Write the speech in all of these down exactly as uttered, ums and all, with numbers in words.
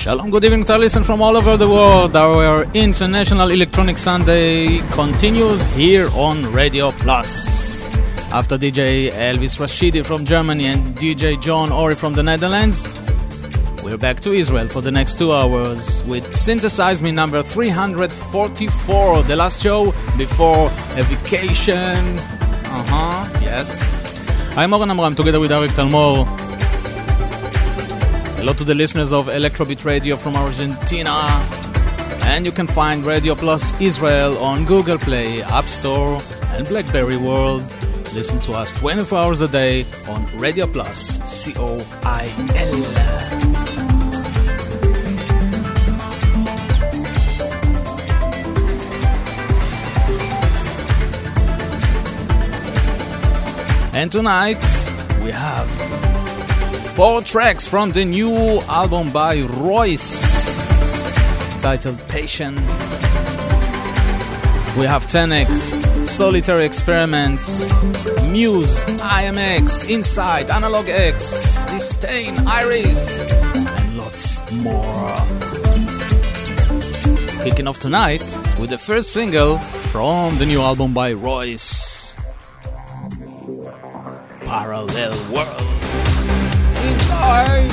Shalom, good evening to our listeners from all over the world. Our International Electronic Sunday continues here on Radio Plus. After D J Elvis Rashidi from Germany and D J John Ori from the Netherlands, we're back to Israel for the next two hours with Synthesize Me number three hundred forty-four, the last show before a vacation. Uh-huh, yes. I'm Oren Amram, together with Arik Talmor. Hello to the listeners of Electrobeat Radio from Argentina. And you can find Radio Plus Israel on Google Play, App Store, and BlackBerry World. Listen to us twenty-four hours a day on Radio Plus, C O I L. And tonight we have four tracks from the new album by Royce, titled Patience. We have Tenek, Solitary Experiments, Muse, I M X, Inside, Analog X, Disdain, Iris, and lots more. Kicking off tonight with the first single from the new album by Royce, Parallel World. Enjoy!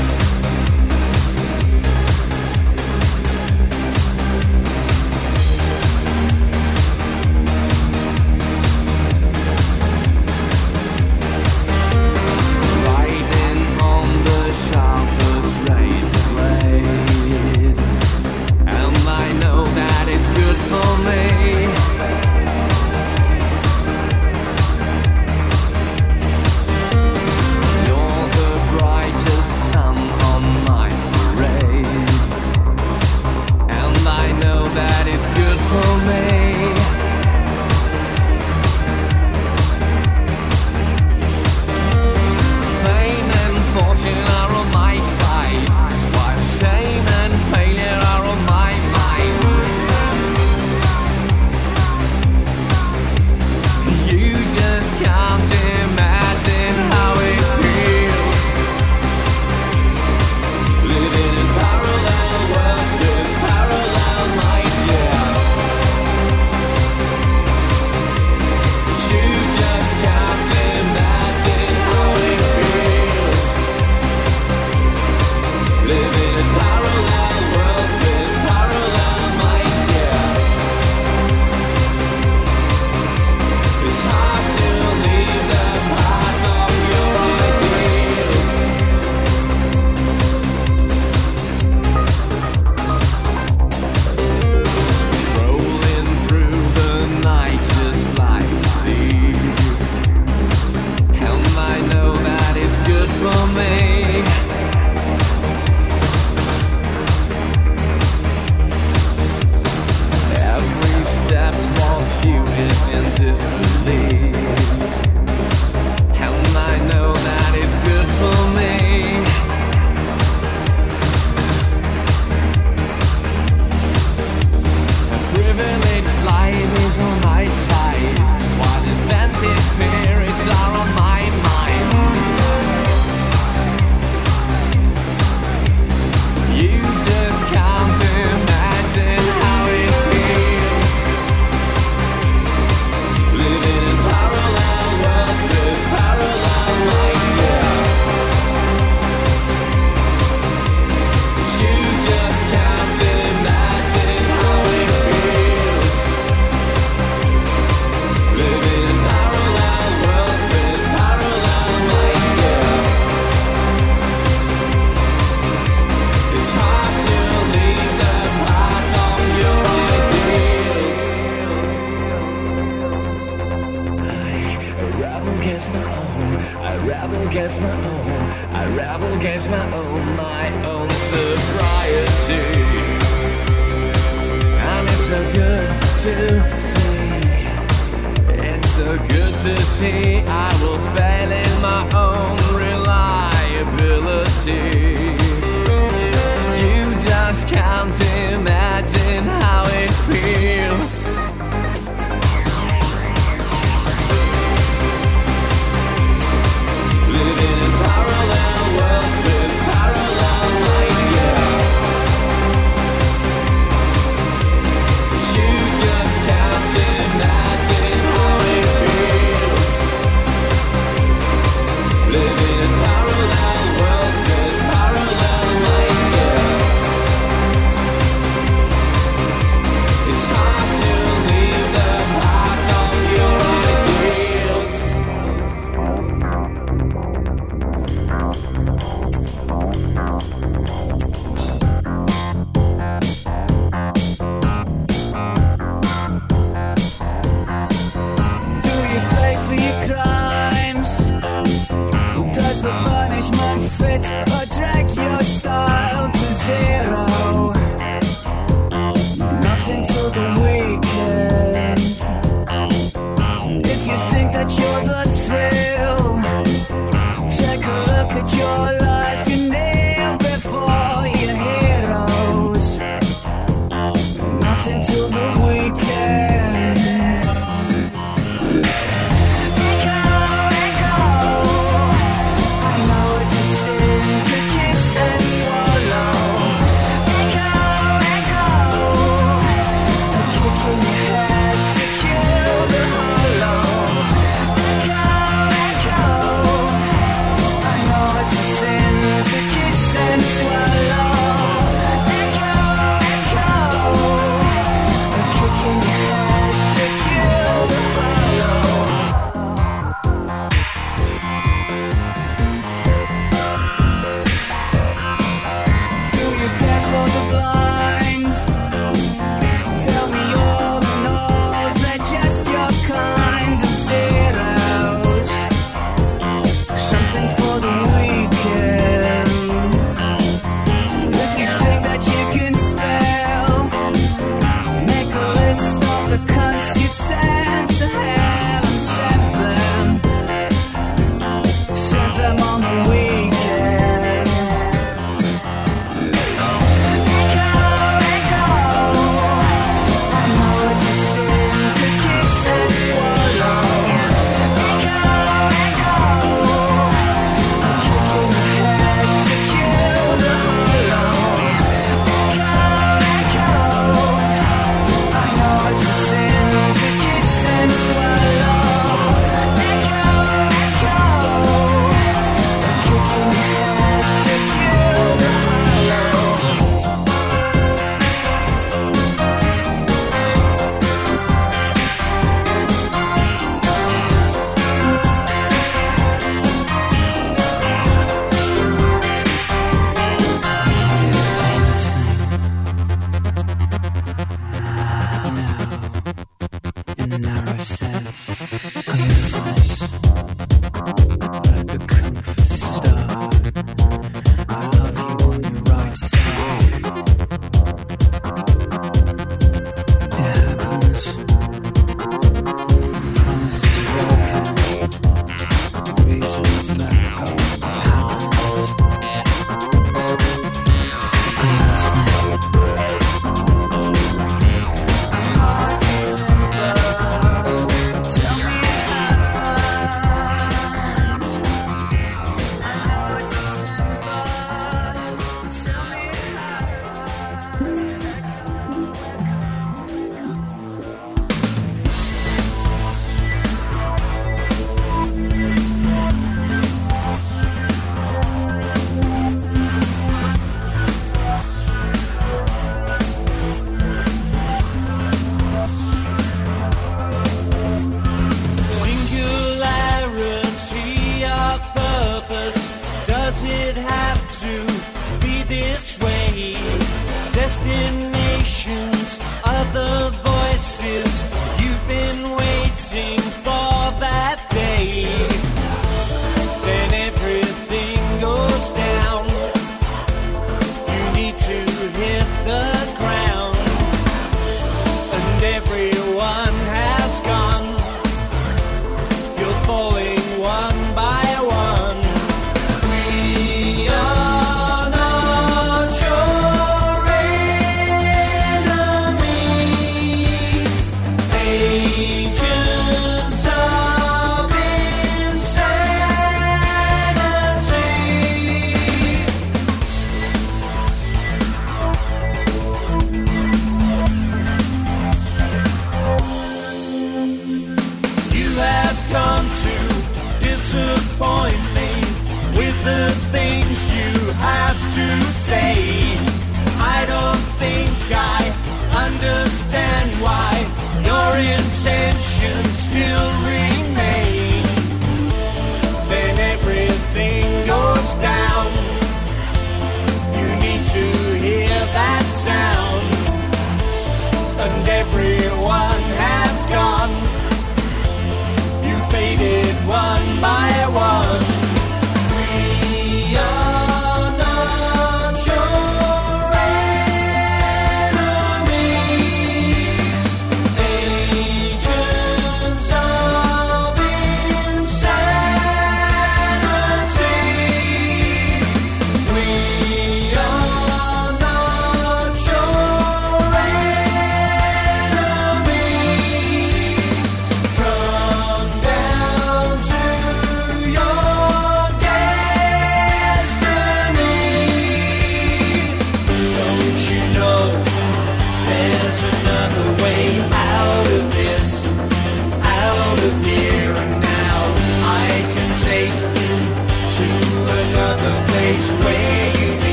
Living in parallel worlds with parallel minds, yeah. punishment fit or drag your style to zero. Nothing till the weekend. If you think that you're the thrill, take a look at your life. You kneel before your heroes. Nothing till the weekend. Echo, echo. I know it's a sin to kiss and swallow. Echo, echo. A kick in your head to kill the hollow. Echo, echo. I know it's a sin to kiss and swallow. Echo, echo. A kick in your head to kill the hollow. Do you care for the blind? Tell me all in all, they're just your kind of zeros. Something for the weekend. If you think that you can spell, make a list of the cunts you'd send to hell and send them. Send them on the weekend. Echo, echo. I know it's a sin to kiss and swallow. Echo, echo. A kick in the head to kill the hollow. Echo, echo. I know it's a sin to kiss and swallow. Echo, echo. A kick in the head to kill the hollow. In the narrow sense, universe, like the kung fu star. I love you on your right side. It happens. Promises broken. Reasons let go. It happens. Are you listening? Tell me it happens. I know it's a sin, but tell me it happens. Singularity of purpose, does it have to be this way? Destinations, other voices, you've been waiting for that day. Then everything goes down. You need to hit the ground, and everyone has gone. You're falling one by one. We are not your enemy. Agents of insanity. You have come to disappoint me with the things you have to say. I don't think I understand why your intentions still remain. Then everything goes down. You need to hear that sound, and everyone has gone. You faded one by one. We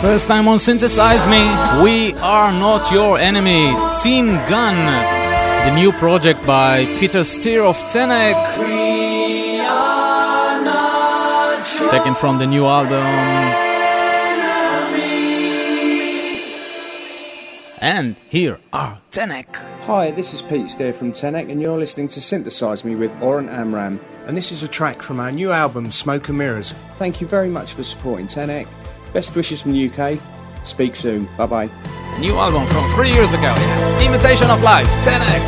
First time on Synthesize Me, We Are Not Your Enemy, Teen Gun, the new project by Peter Steer of Tenek, taken from the new album. And here are Tenek. Hi, this is Pete Steer from Tenek, and you're listening to Synthesize Me with Oren Amram. And this is a track from our new album, Smoke and Mirrors. Thank you very much for supporting Tenek. Best wishes from the U K. Speak soon. Bye-bye. A new album from three years ago. Yeah. Imitation of Life, Tenek.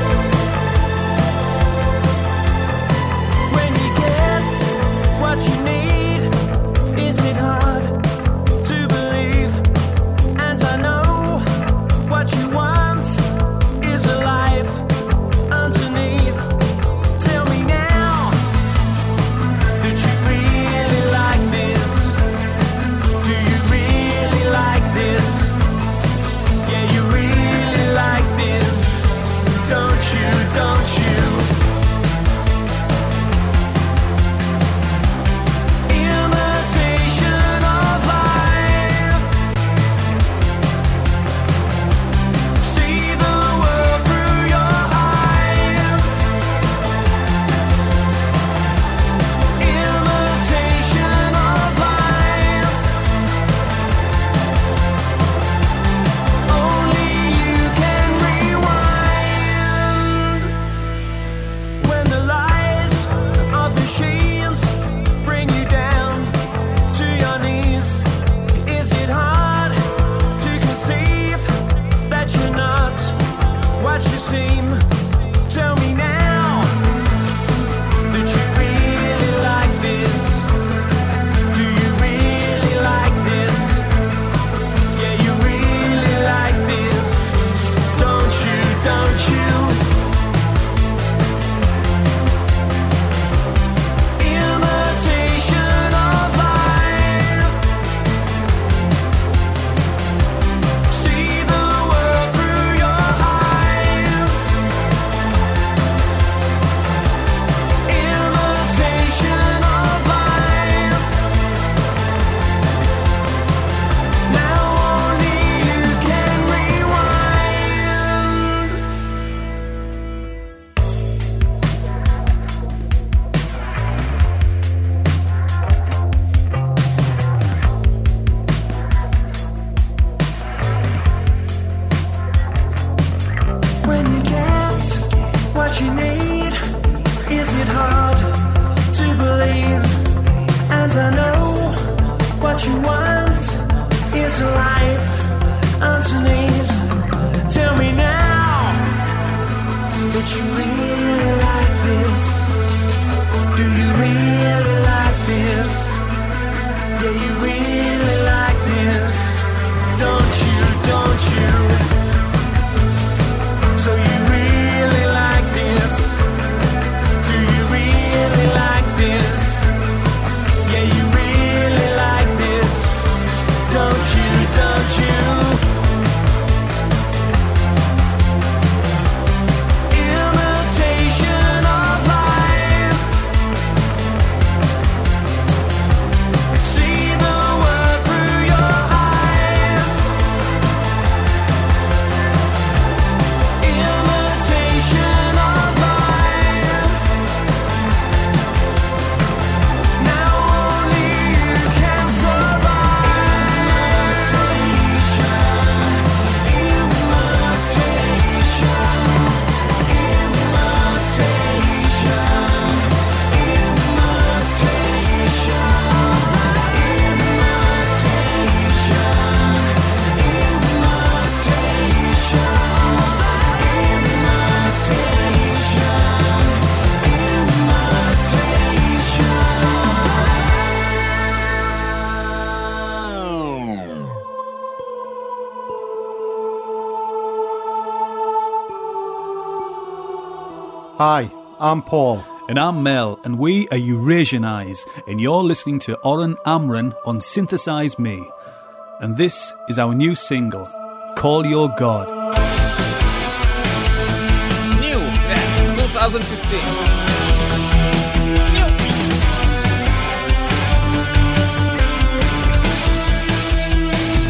When you get what you need, is it hard to believe? And I know what you want is a life underneath. Tell me now, did you really like this? Do you really like this? Yeah, you really like this, don't you, don't you? Imitation of life. See the world through your eyes. Imitation of life. Only you can rewind. When the lies of machines bring you down to your knees, is it hard to conceive that you're not what you seem? Tell me now, did you really like this? Do you really like this? Yeah, you really like this, don't you, don't you? Imitation of life. See the world through your eyes. Imitation of life. Now only you can rewind. When you get what you need, is it hard to believe? And I know what you want is a life underneath. Tell me now, did you really like this? Do you really like this? Yeah, you really like this, don't you, don't you? So you really like this? Do you really like this? Yeah, you really like this, don't you, don't you? Imitation of life. See the world through your eyes. Imitation of life. Now only you can survive. Hi, I'm Paul. And I'm Mel, and we are Eurasian Eyes, and you're listening to Oren Amram on Synthesize Me. And this is our new single, Call Your God. New, yeah, twenty fifteen. New.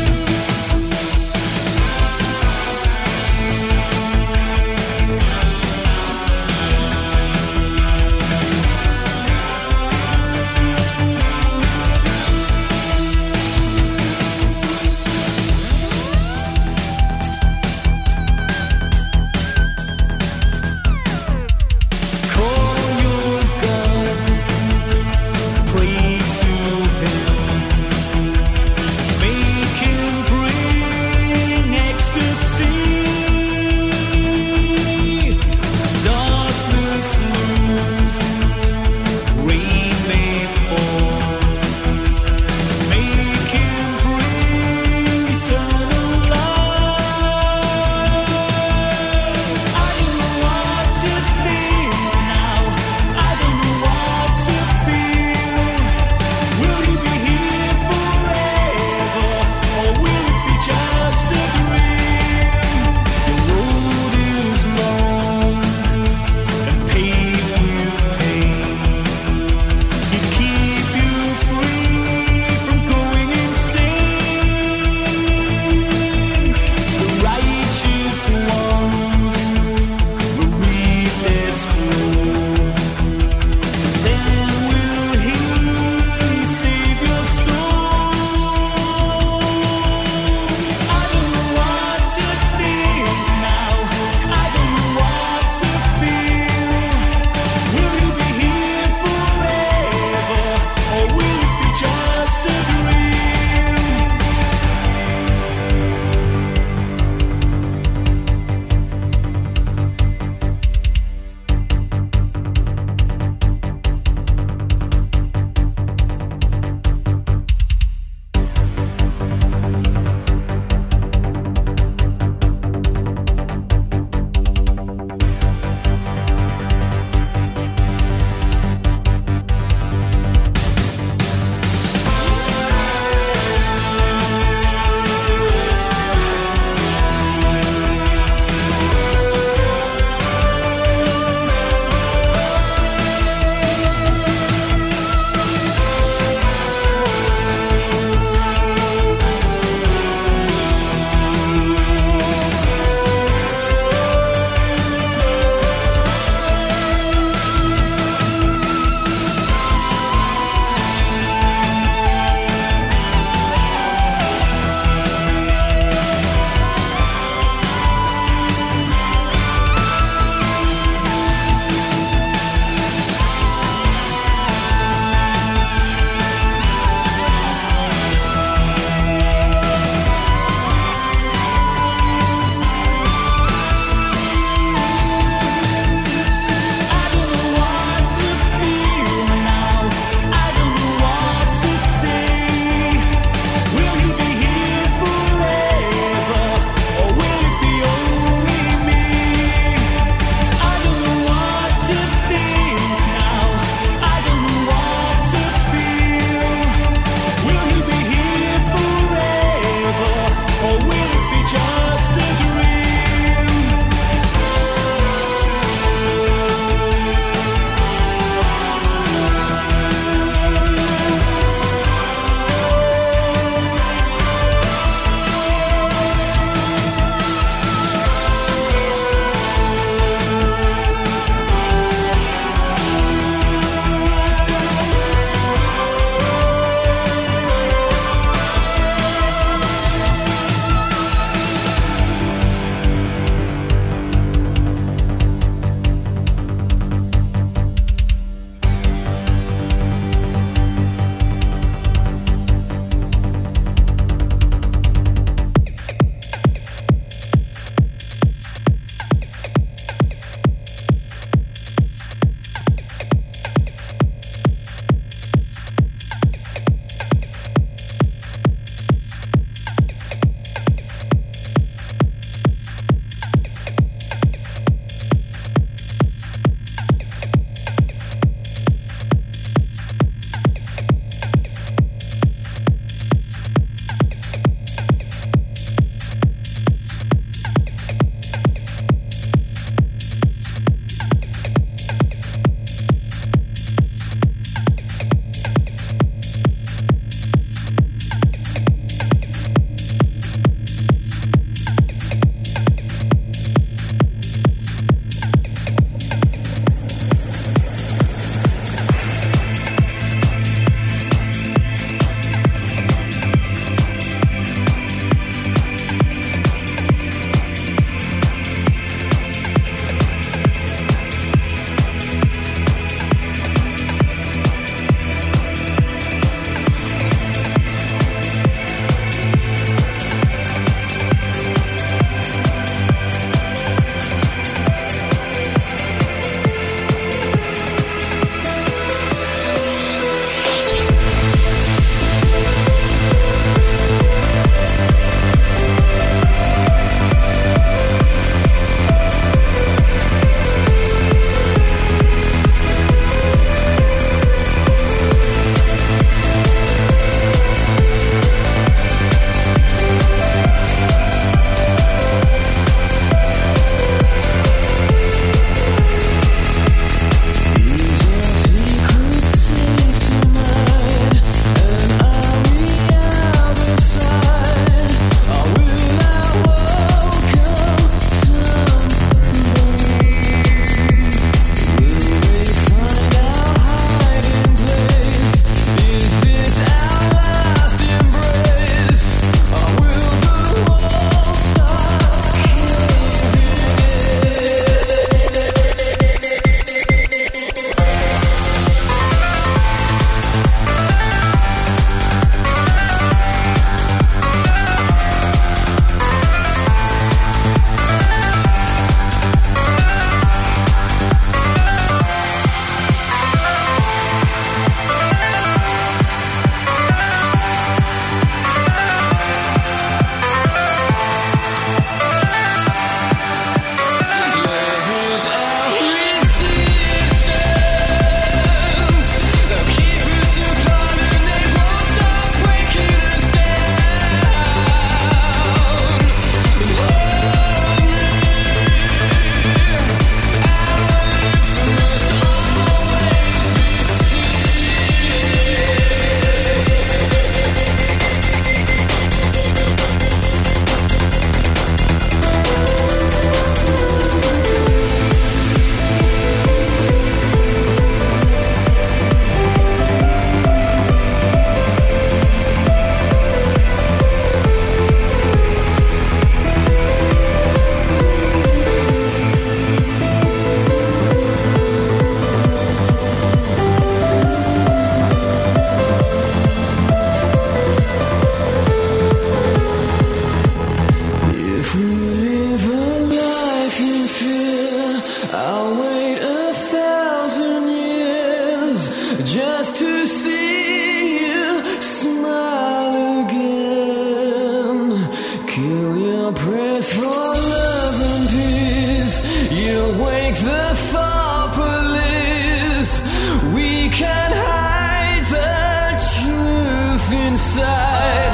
prayers for love and peace. You'll wake the far police. We can hide the truth inside.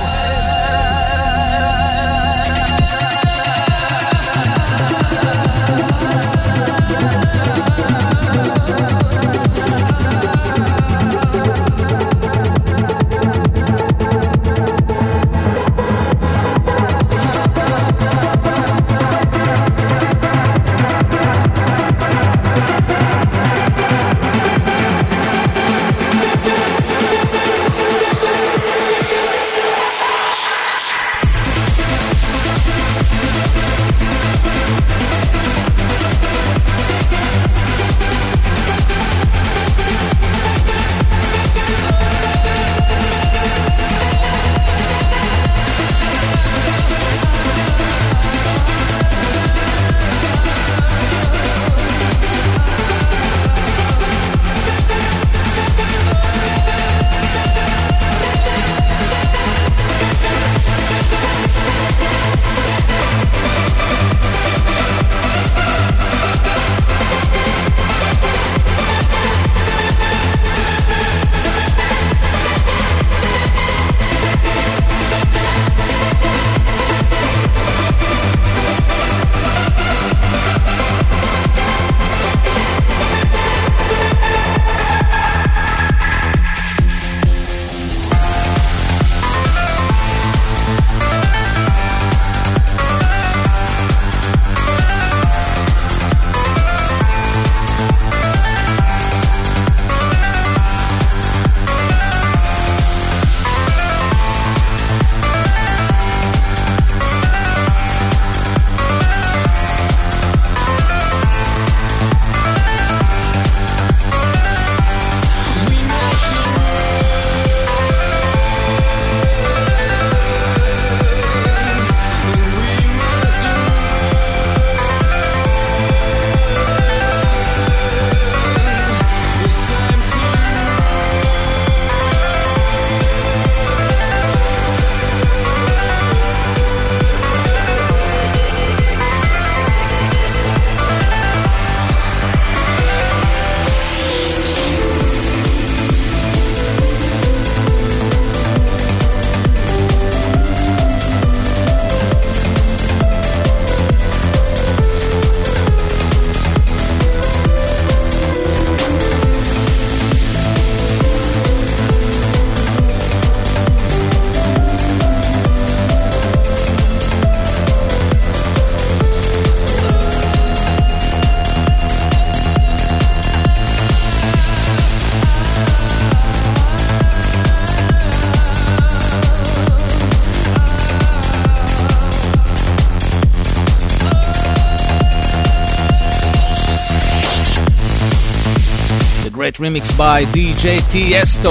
Remix by D J Tiesto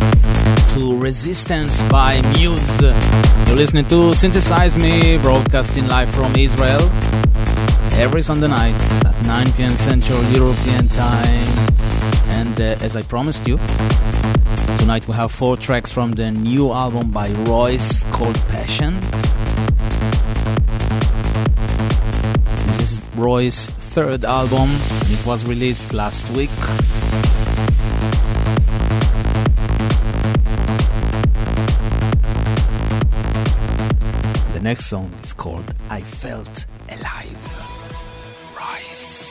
to Resistance by Muse. You're listening to Synthesize Me, broadcasting live from Israel every Sunday night at nine p.m. Central European Time. And uh, as I promised you, tonight we have four tracks from the new album by Royce called Passion. This is Royce's third album. It was released last week. The next song is called I Felt Alive. Rise.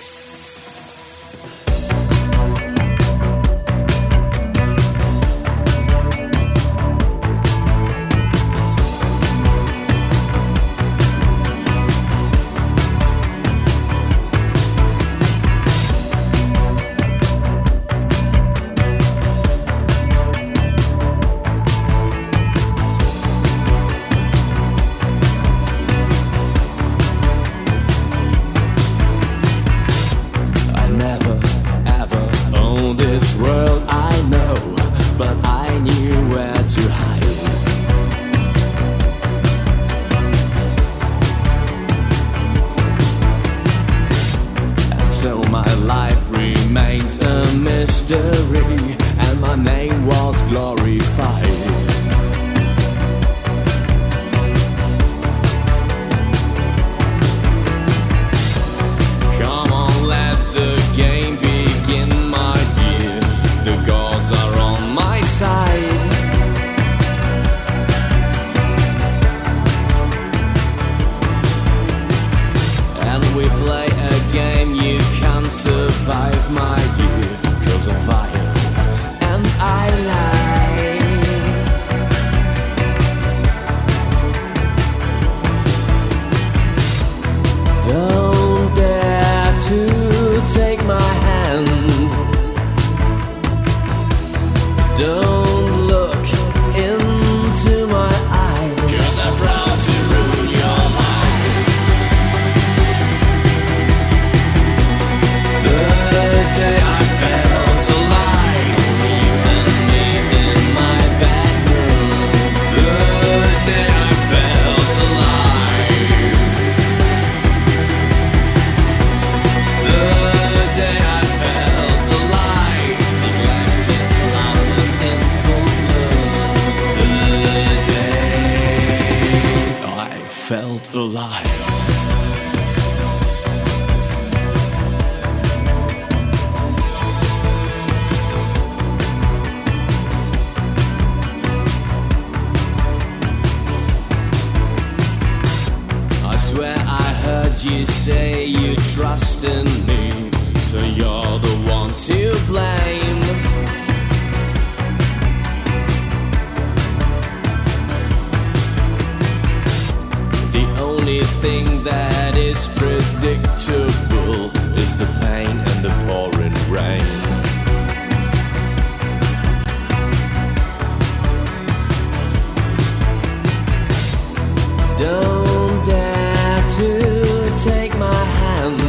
And my name was glorified. and we play a game. You can't survive, my dear, 'cause of fire and I lie. Don't dare to take my hand. Don't look into my eyes, 'cause I'm proud to ruin your life. The day I felt alive, you and me in my bedroom. The day I felt alive. The day I felt alive. Neglected flowers in full bloom. The day I felt alive. I swear I heard you say you trust in me, so you're the one to blame. The only thing that is predictable is the pain and the pouring rain. Don't dare to take my hand.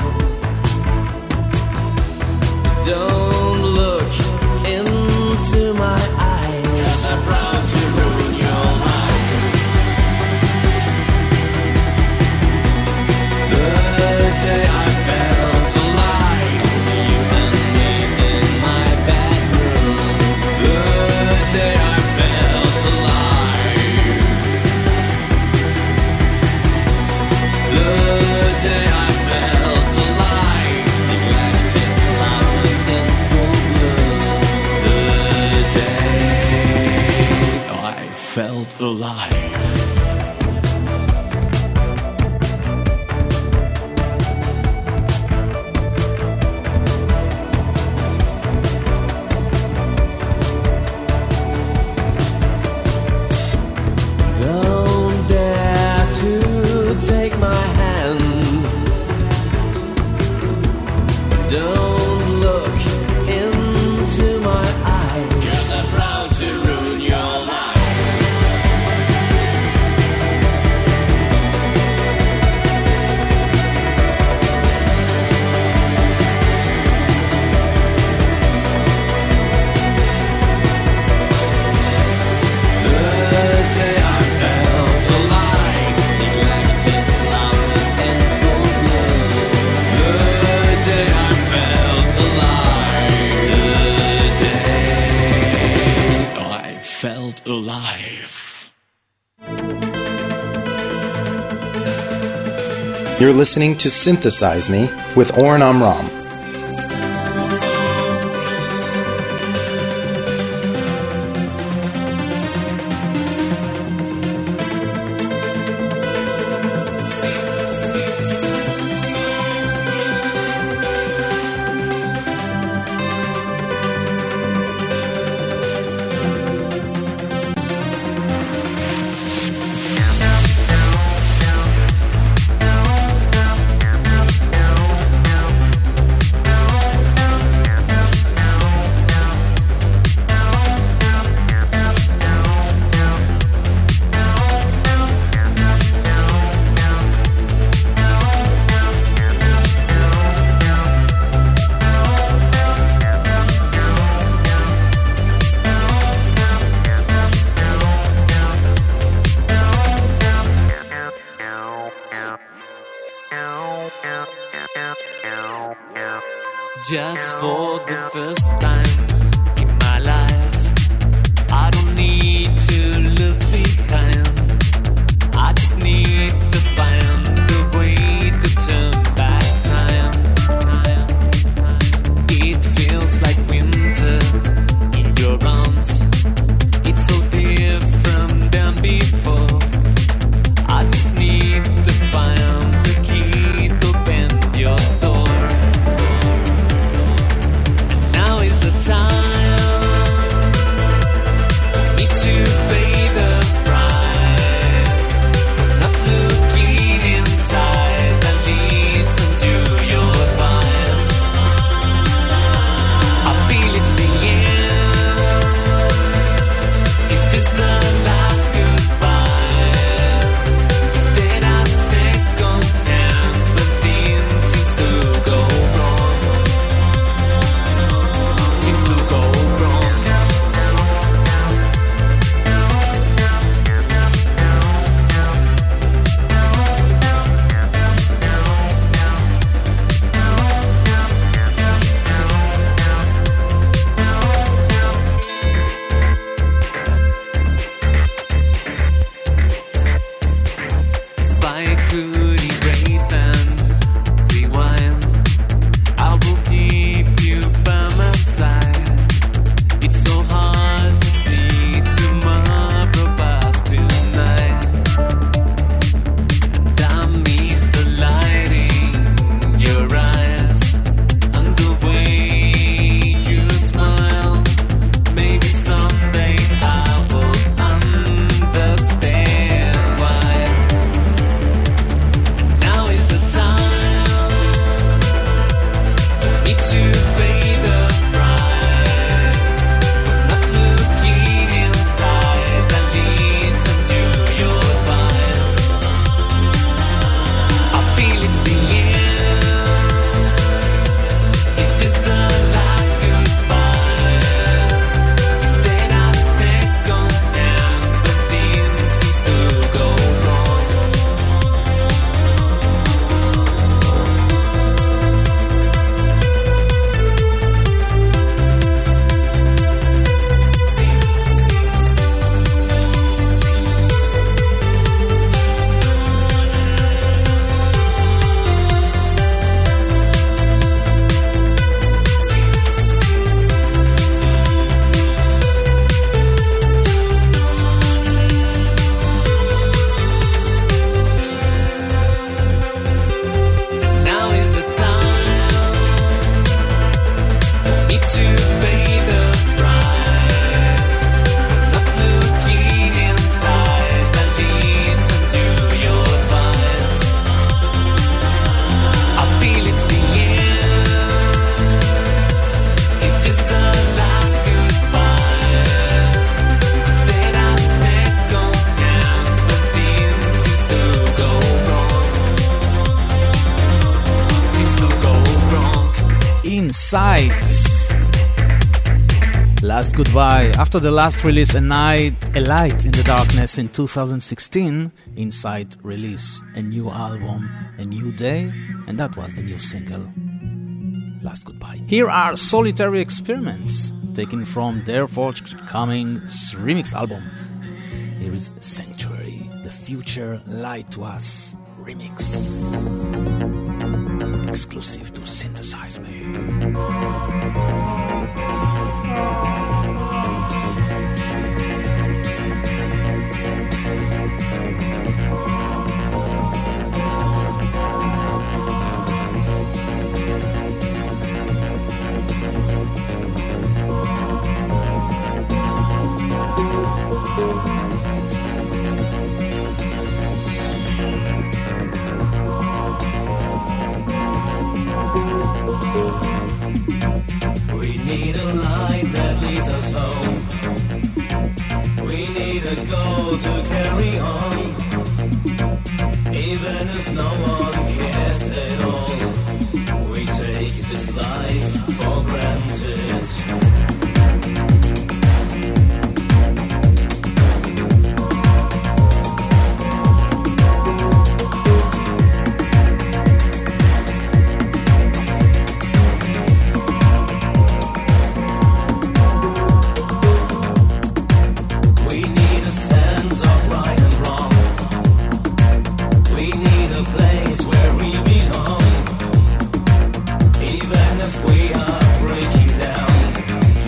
Don't look into my eyes, 'cause I'm proud to ruin your life. The day I felt alive, you and me in my bedroom. The day I felt alive. The day I felt alive. Neglected flowers in full bloom. The day I felt alive. Don't dare to take my hand. Don't look into my eyes, 'cause I'm proud to ruin your life. The day I felt alive, neglected flowers in full bloom. The day I felt alive. The day I felt alive. You're listening to Synthesize Me with Oren Amram. Just for the first time in my life, I don't need to look behind. I just need to find the way to turn back time. time, time. It feels like winter in your arms. It's so different than before. I just need to find the key to Sights. Last Goodbye. After the last release, A Night, A Light in the Darkness in two thousand sixteen, Insight released a new album, A New Day, and that was the new single, Last Goodbye. Here are Solitary Experiments, taken from their forthcoming remix album. Here is Sanctuary, The Future Lied to Us remix. Exclusive to Synthesize Me. We need a light that leads us home. We need a goal to carry on. Even if no one cares at all, we take this life for granted. Even if we are breaking down,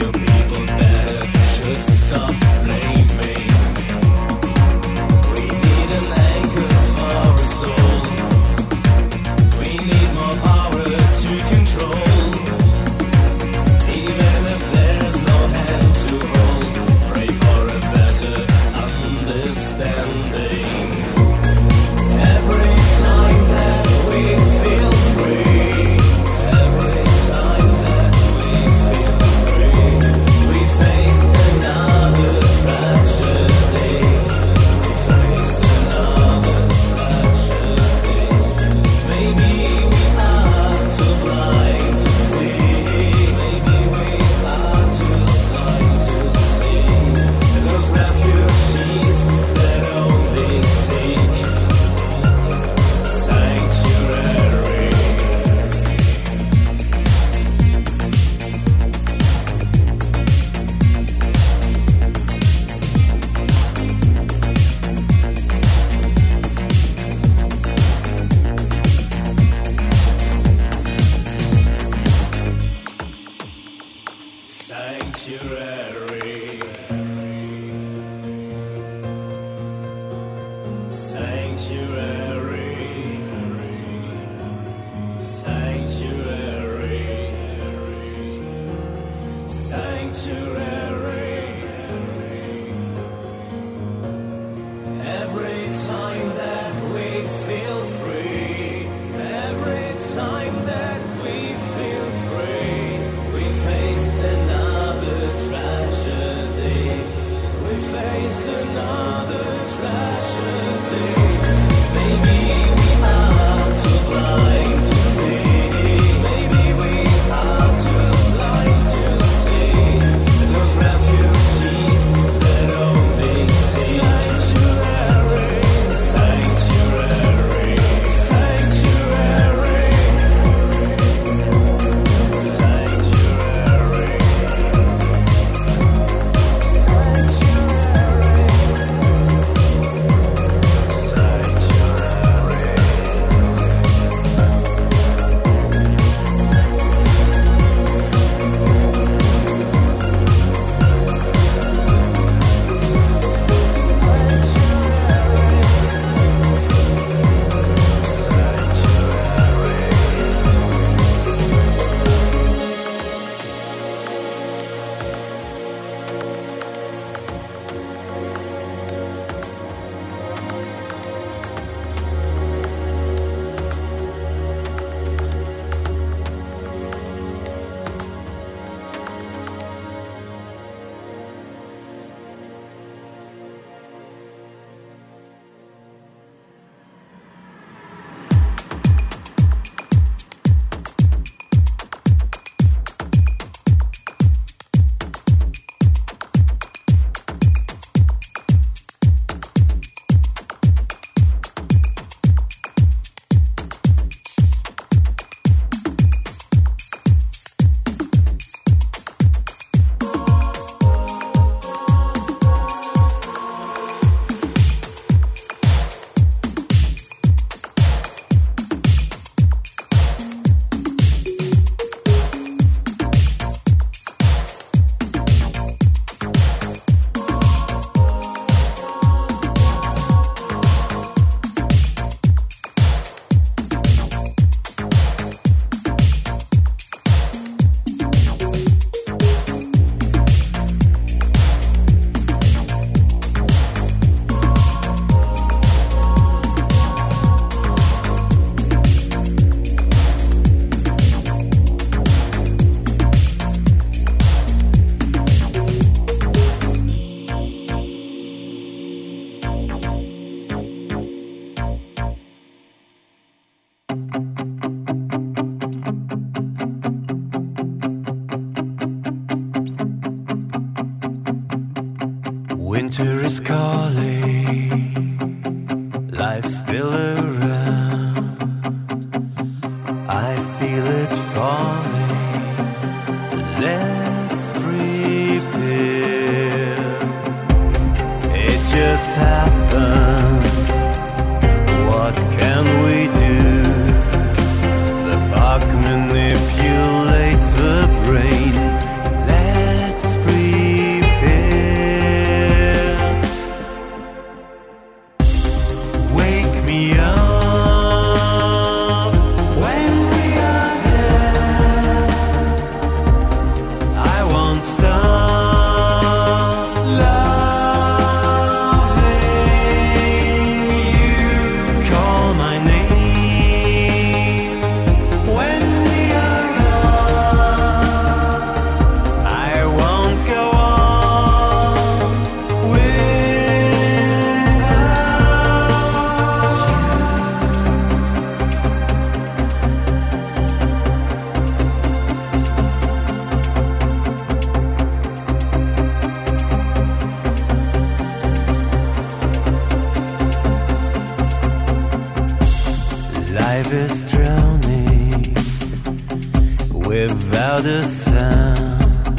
life is drowning without a sound.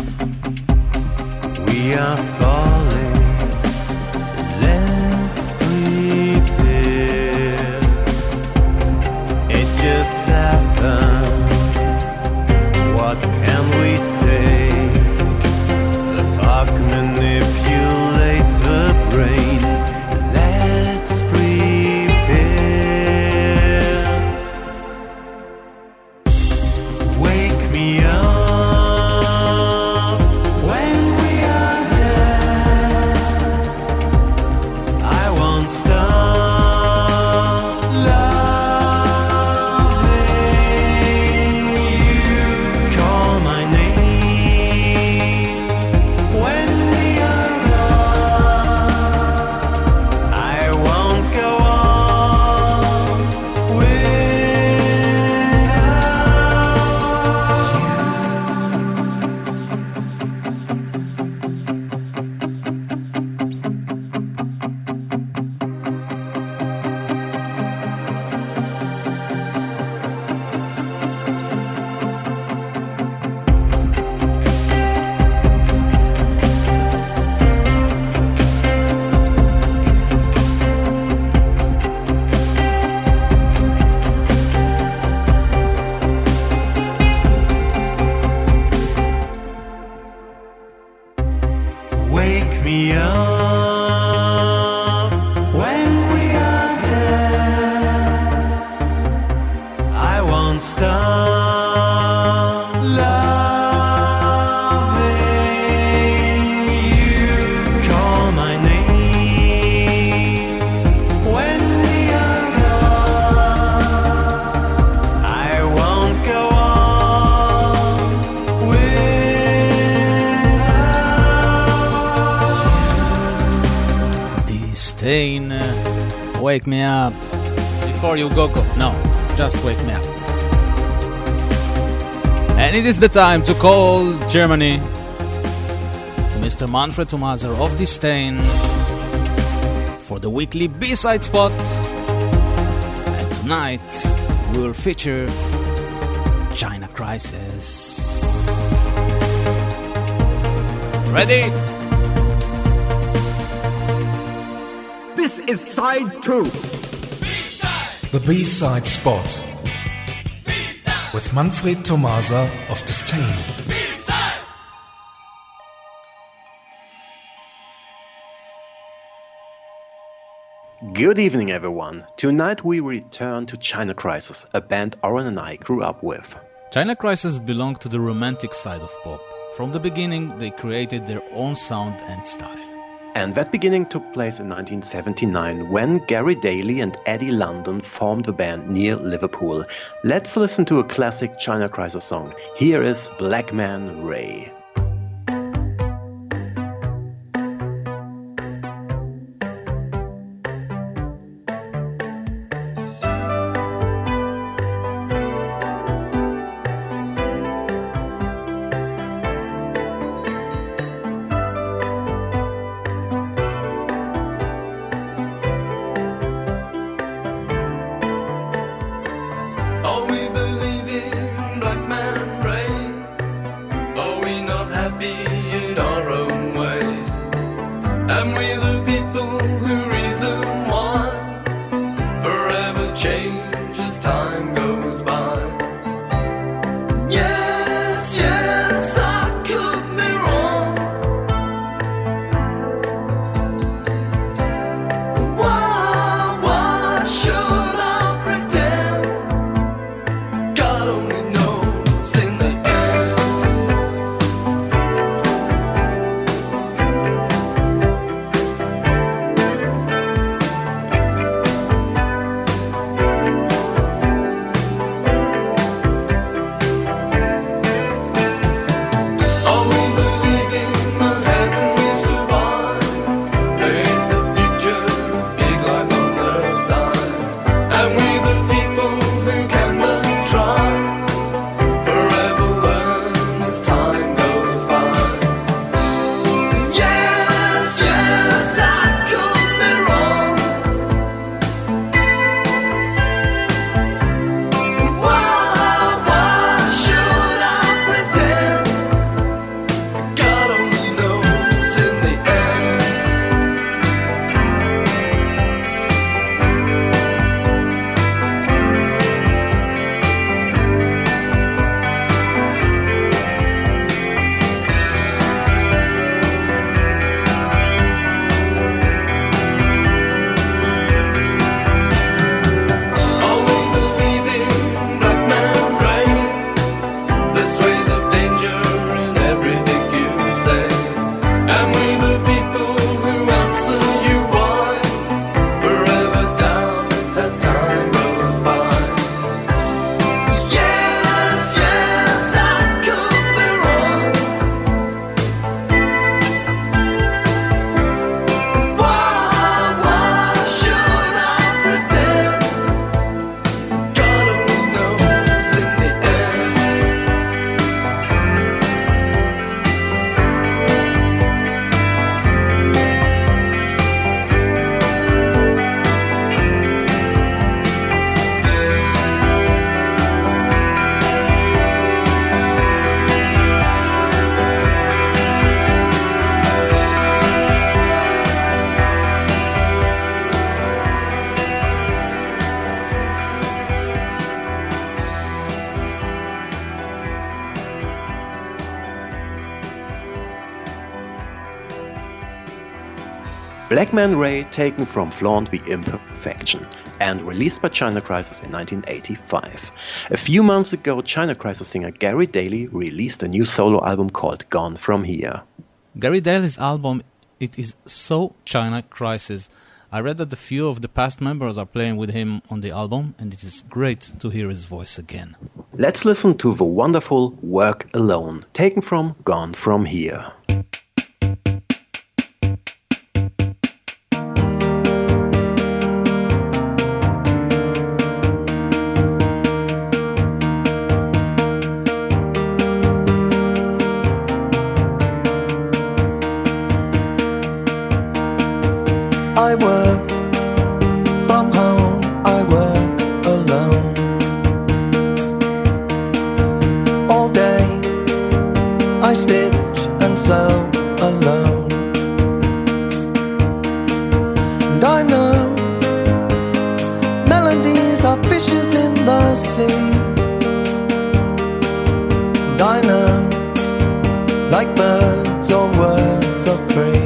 We are falling. Let's prepare. It just happens. What can we say? The fog manipulates the brain. Let's prepare. Wake me up when we are dead. I won't stop loving you. Call my name when we are gone. I won't go on Wake me up when we are dead. I won't stop loving you. Call my name when we are gone. I won't go on without Disdain, uh, wake me up. Before you go, go. No, just wake me up. And it is the time to call Germany to Mister Manfred Thomaser of Disdain for the weekly B-side spot. And tonight we will feature China Crisis. Ready? This is side two. The B-side spot with Manfred Thomaser of Disdain. Good evening, everyone. Tonight we return to China Crisis, a band Oren and I grew up with. China Crisis belonged to the romantic side of pop. From the beginning, they created their own sound and style. And that beginning took place in nineteen seventy-nine when Gary Daly and Eddie London formed the band near Liverpool. Let's listen to a classic China Crisis song. Here is Black Man Ray. Oh, we believe in Black Man Ray. Oh, we know Black Man Ray, taken from Flaunt the Imperfection, and released by China Crisis in nineteen eighty-five. A few months ago, China Crisis singer Gary Daly released a new solo album called Gone From Here. Gary Daly's album, it is so China Crisis. I read that a few of the past members are playing with him on the album, and it is great to hear his voice again. Let's listen to the wonderful Work Alone, taken from Gone From Here. I work from home, I work alone. All day I stitch and sew alone. And I know melodies are fishes in the sea. And I know, like birds, all words are free.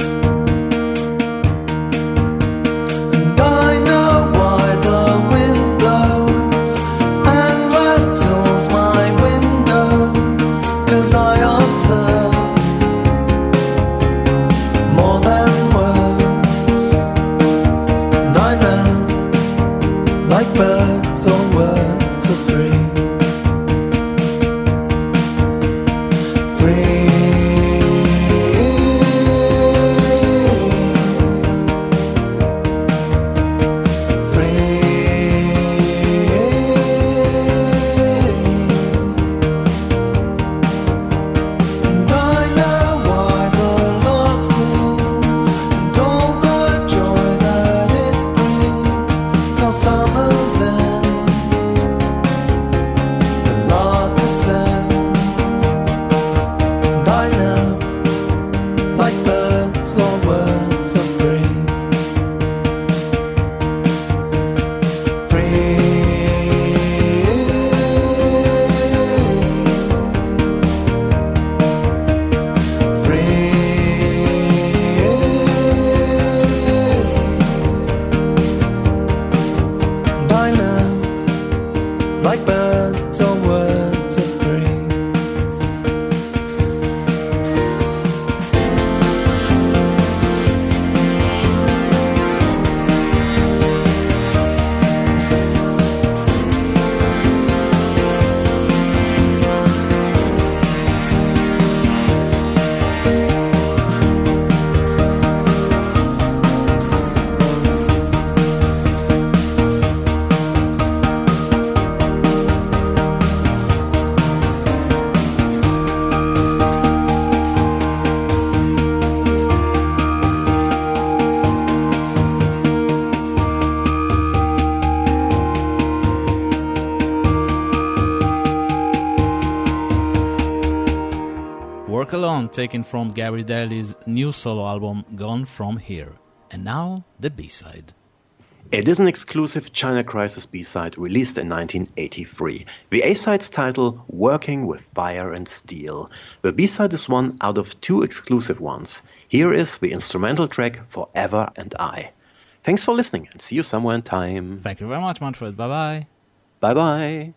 Taken from Gary Daly's new solo album Gone From Here. And now the B-side. It is an exclusive China Crisis B-side released in nineteen eighty-three. The A-side's title, Working with Fire and Steel. The B-side is one out of two exclusive ones. Here is the instrumental track Forever and I. Thanks for listening and see you somewhere in time. Thank you very much, Manfred. Bye-bye. Bye-bye.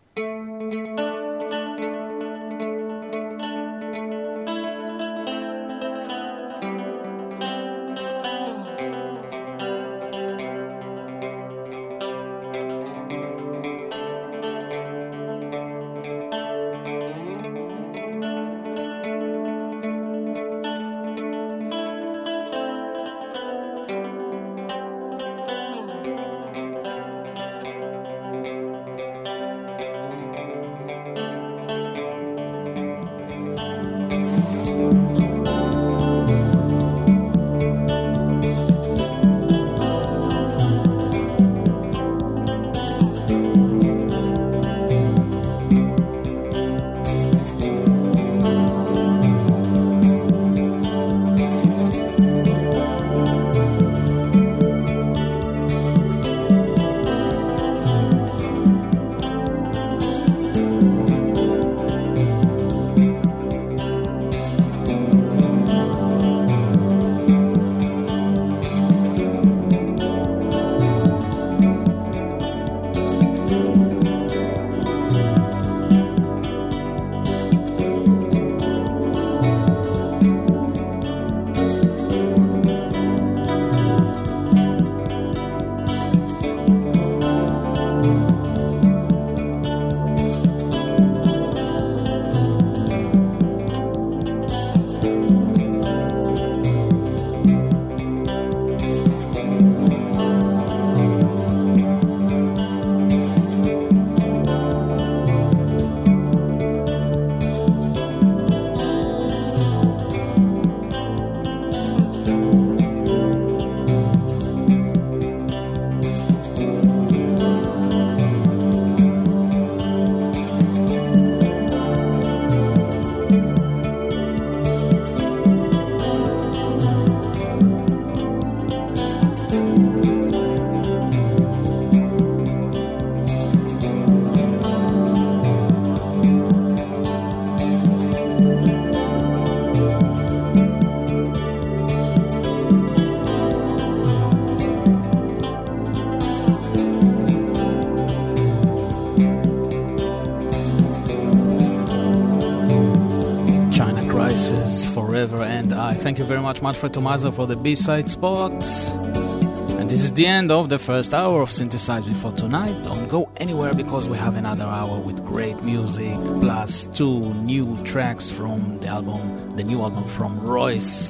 was Forever and I. Thank you very much, Manfred Tomasa, for the B-side spots. And this is the end of the first hour of Synthesize Me for tonight. Don't go anywhere because we have another hour with great music, plus two new tracks from the album, the new album from Royce.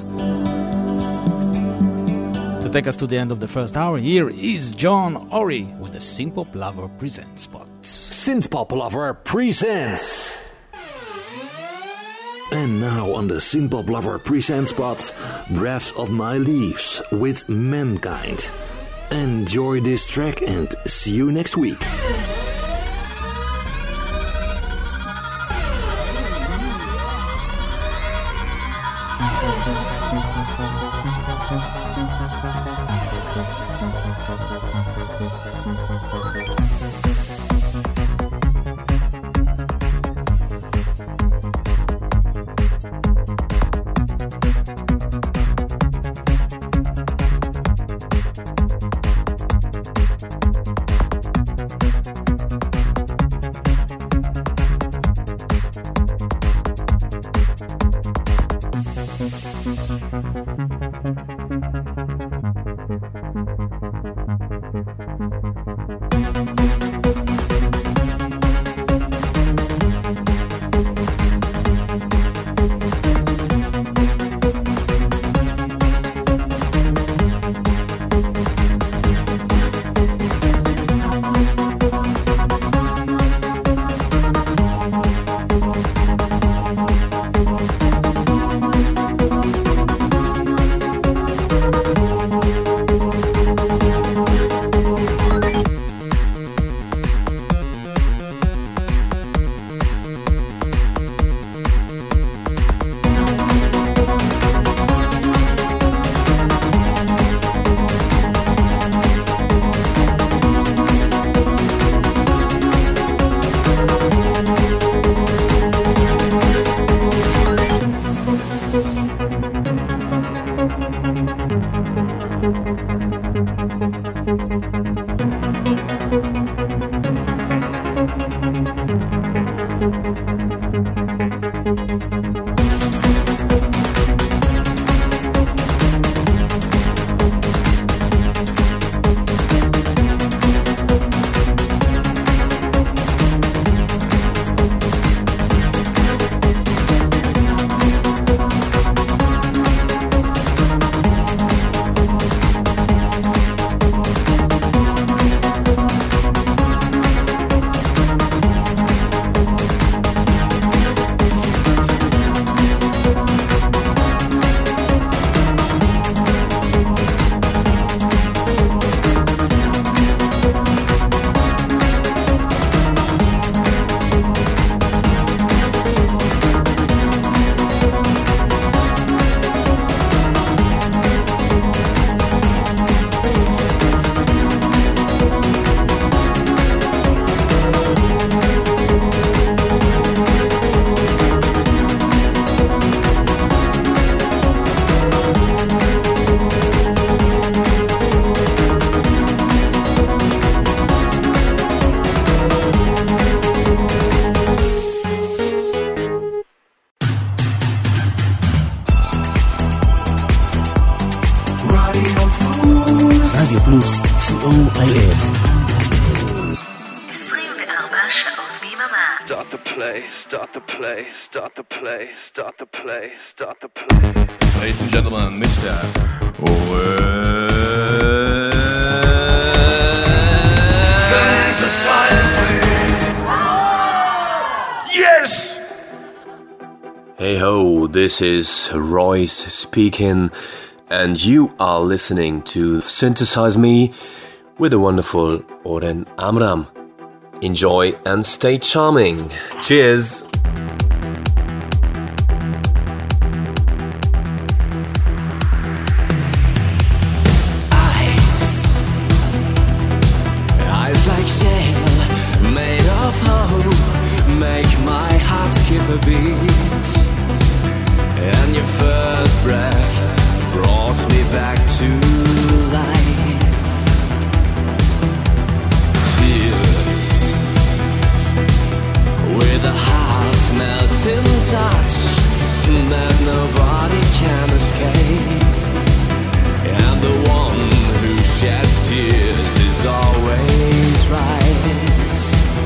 To take us to the end of the first hour, here is John Ory with the Synthpop Lover Presents spots. Synthpop Lover Presents. And now on the Synthpop Lover Presents spot, Breath of My Leaves with Mankind. Enjoy this track and see you next week. Ladies and gentlemen, Mister Yes! Hey ho, this is Royce speaking, and you are listening to Synthesize Me with the wonderful Oren Amram. Enjoy and stay charming. Cheers! A beat, and your first breath brought me back to life. Tears with a heart melting touch that nobody can escape. And the one who sheds tears is always right.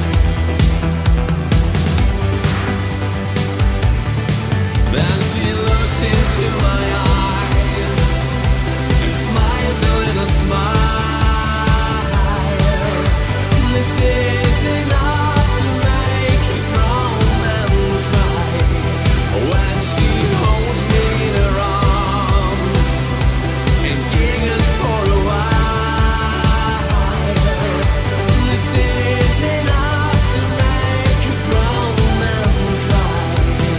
Then she looks into my eyes and smiles a little smile. This is enough to make you groan and cry. When she holds me in her arms and giggles for a while. This is enough to make you groan and cry.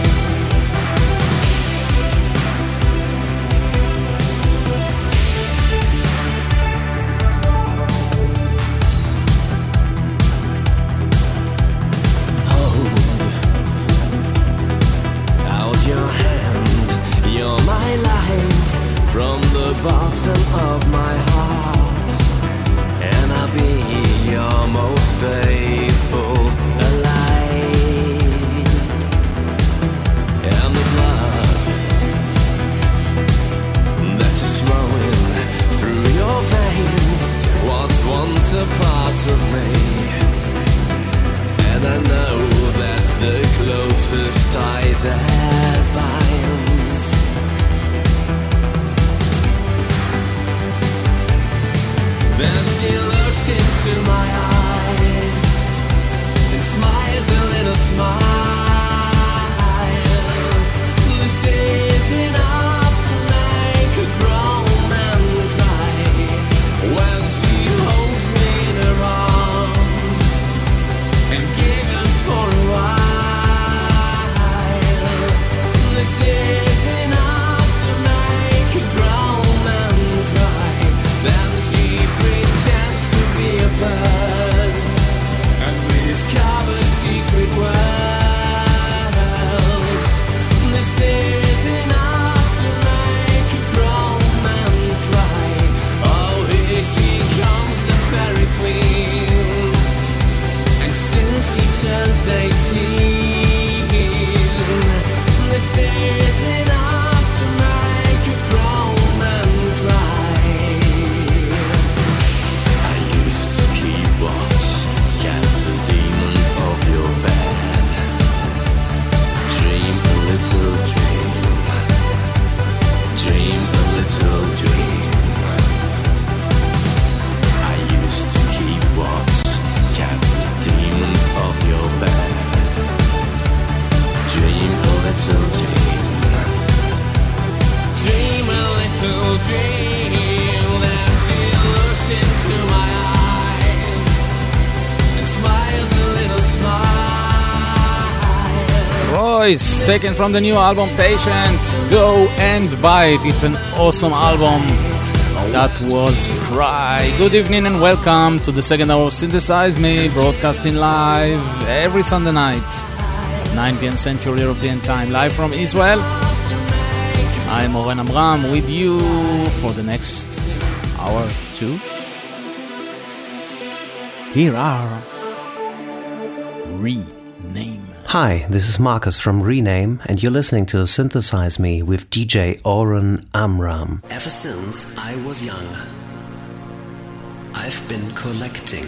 Out your hand, you're my life from the bottom of my heart, and I'll be your most faithful ally. And the blood that is flowing through your veins was once a part of me. And I know that's the closest tie that binds. Then she looks into my eyes and smiles a little smile. This is enough to make her groan and cry. When she holds me in her arms and giggles for a while. This is enough to make you groan and cry. Then she pretends to be a bird and we discover secret worlds. This is enough to make you groan and cry. Oh, here she comes, the fairy queen. And since she turns eighteen, this is enough to make you groan and cry. I used to keep watch, cat the demons of your bed. Dream a little dream, dream a little dream. I used to keep watch, cat the demons of your bed. Dream a little dream, dream a little dream. Then she looks into my eyes and smiles a little smile. Royce, taken from the new album Patient, Go and Bite. It's an awesome album. That was Cry. Good evening and welcome to the second hour of Synthesize Me, broadcasting live every Sunday night, nine p.m. Central European Time, live from Israel. I'm Oren Amram with you for the next hour two. Here are Rename. Hi, this is Marcus from Rename, and you're listening to Synthesize Me with D J Oren Amram. Ever since I was young, I've been collecting,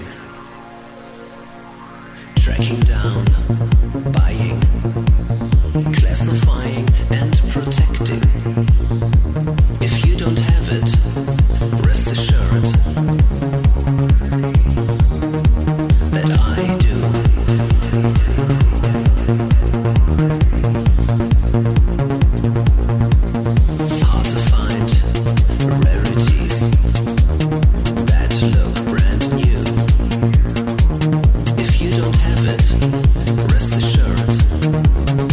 tracking down, buying, classifying and protecting. If you don't have it, rest assured that I do. Hard to find rarities that look brand new. If you don't have it, rest assured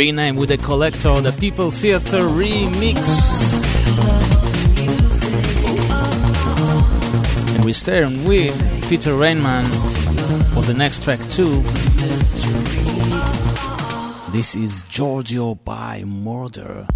Rename with a Collector, the People Theater remix. And we stay with Peter Rainman for the next track too. This is Giorgio by Murder.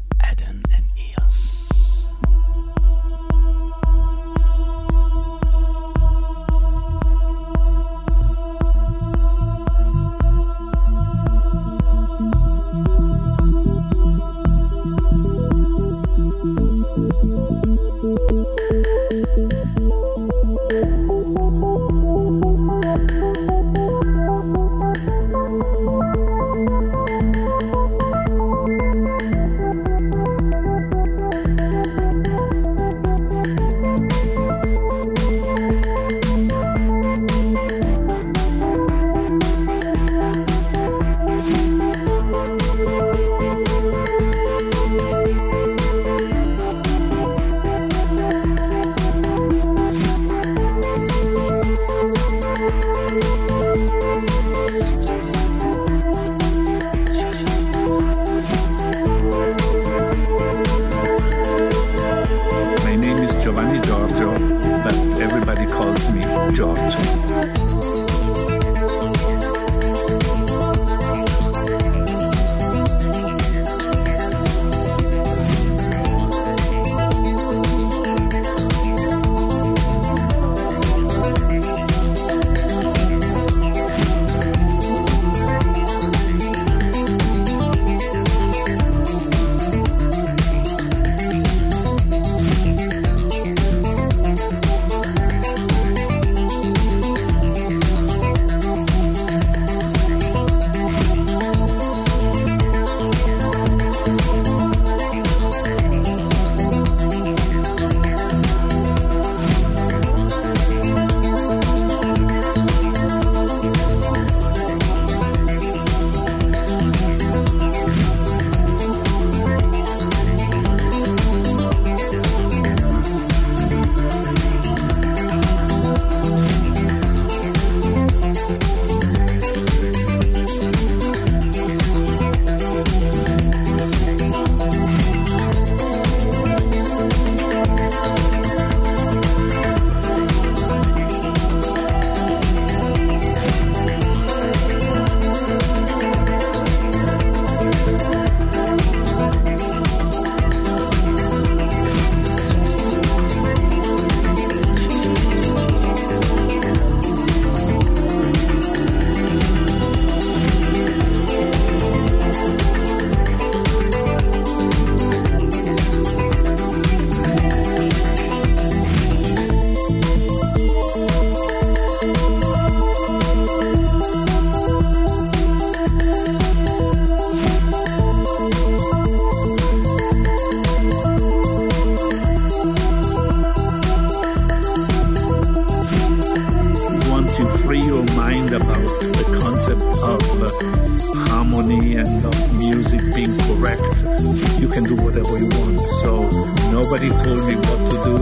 Nobody told me what to do,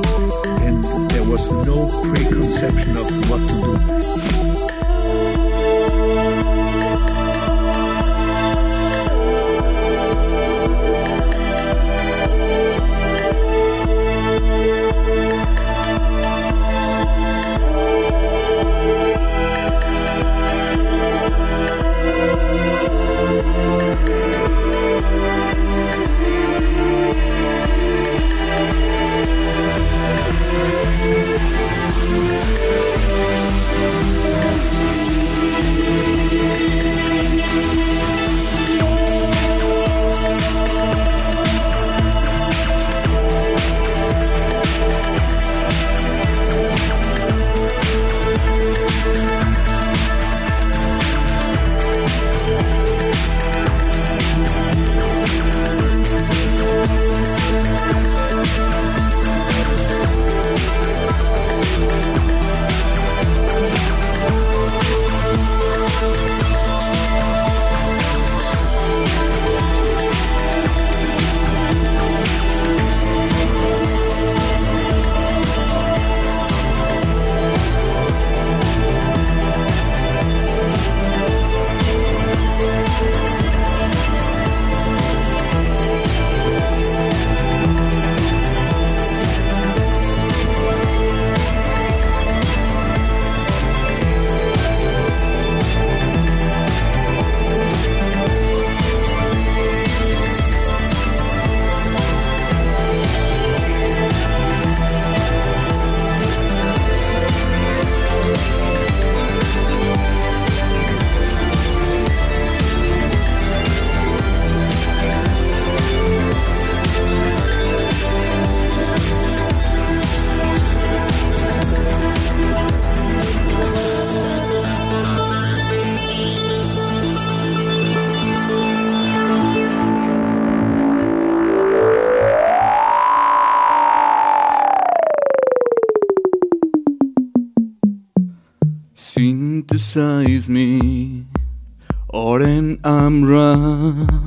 and there was no preconception of what to do. We'll be right back. Synthesize me, Oren Amram.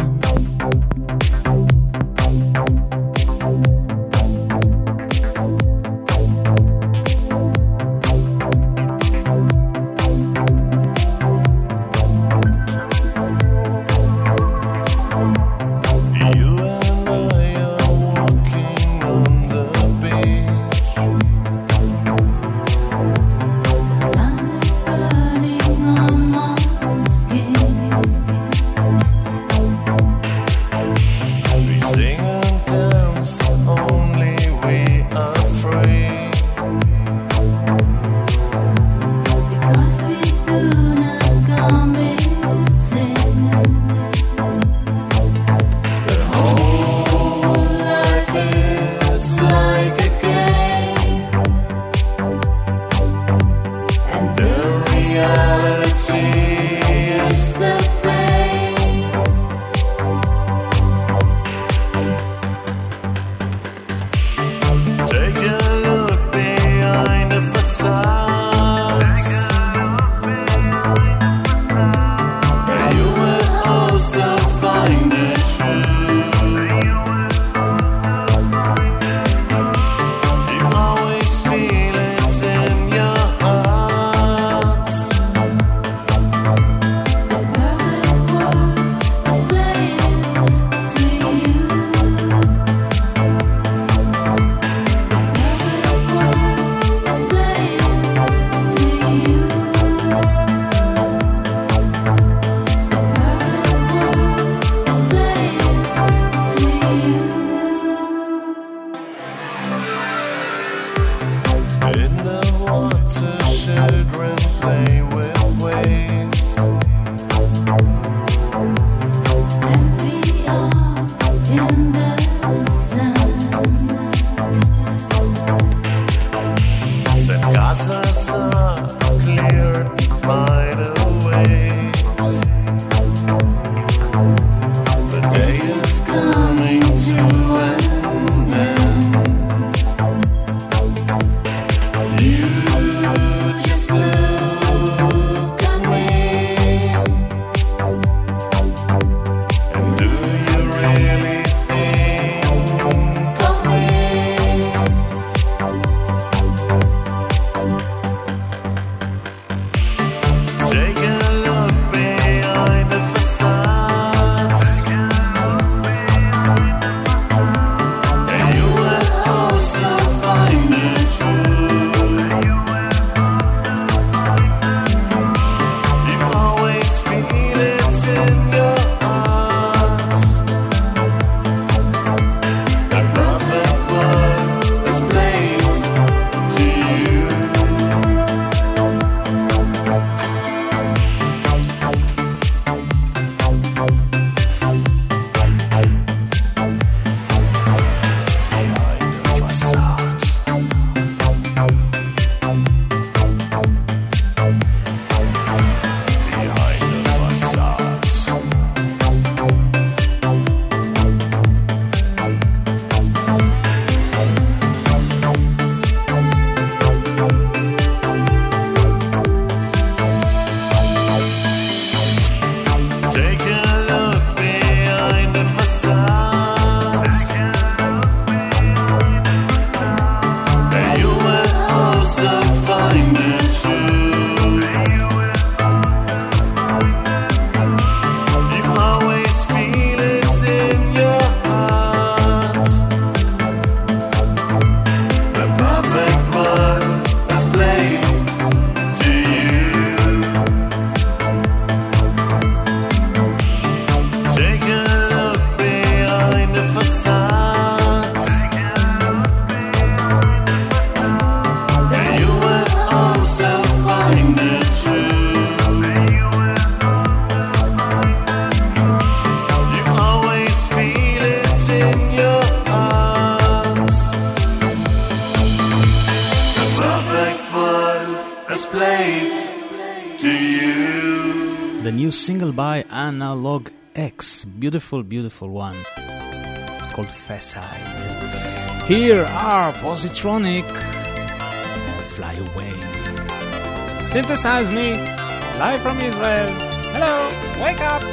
Single by Analog X. Beautiful, beautiful one. It's called Facade. Here are Positronic. Fly Away. Synthesize Me, live from Israel. Hello, wake up!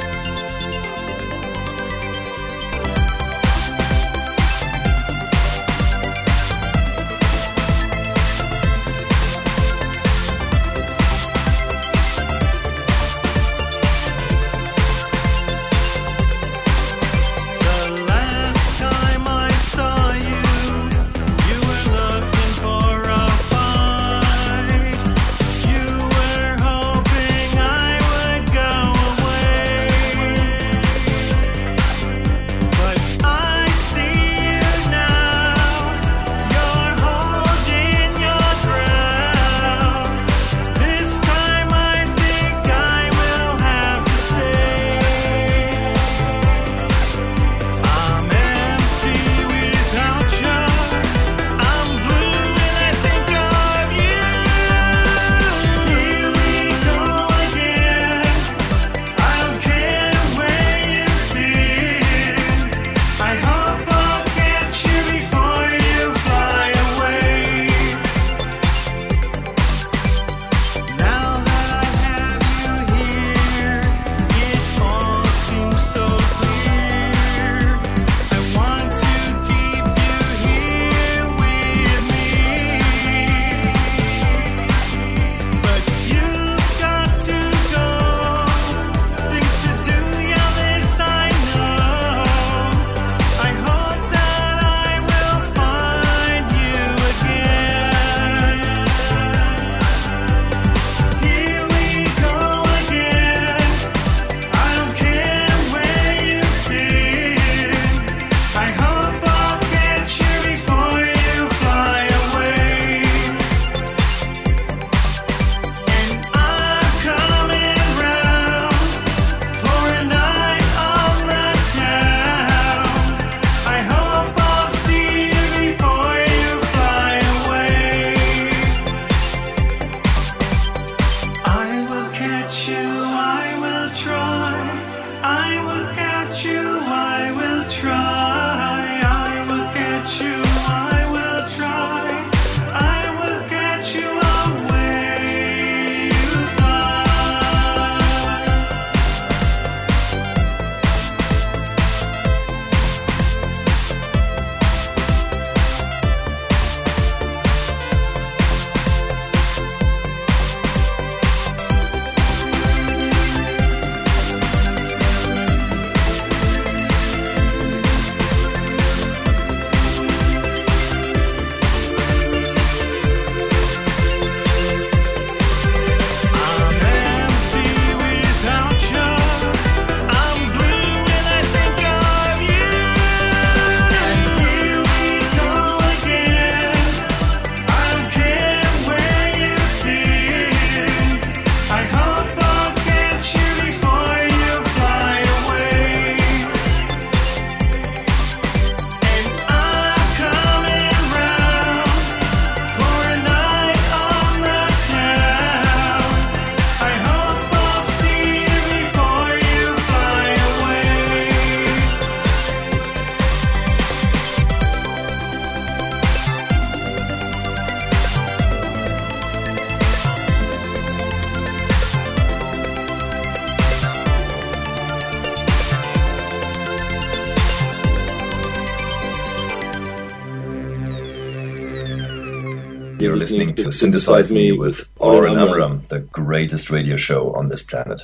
You're listening to Synthesize Me with Oren Amram, the greatest radio show on this planet.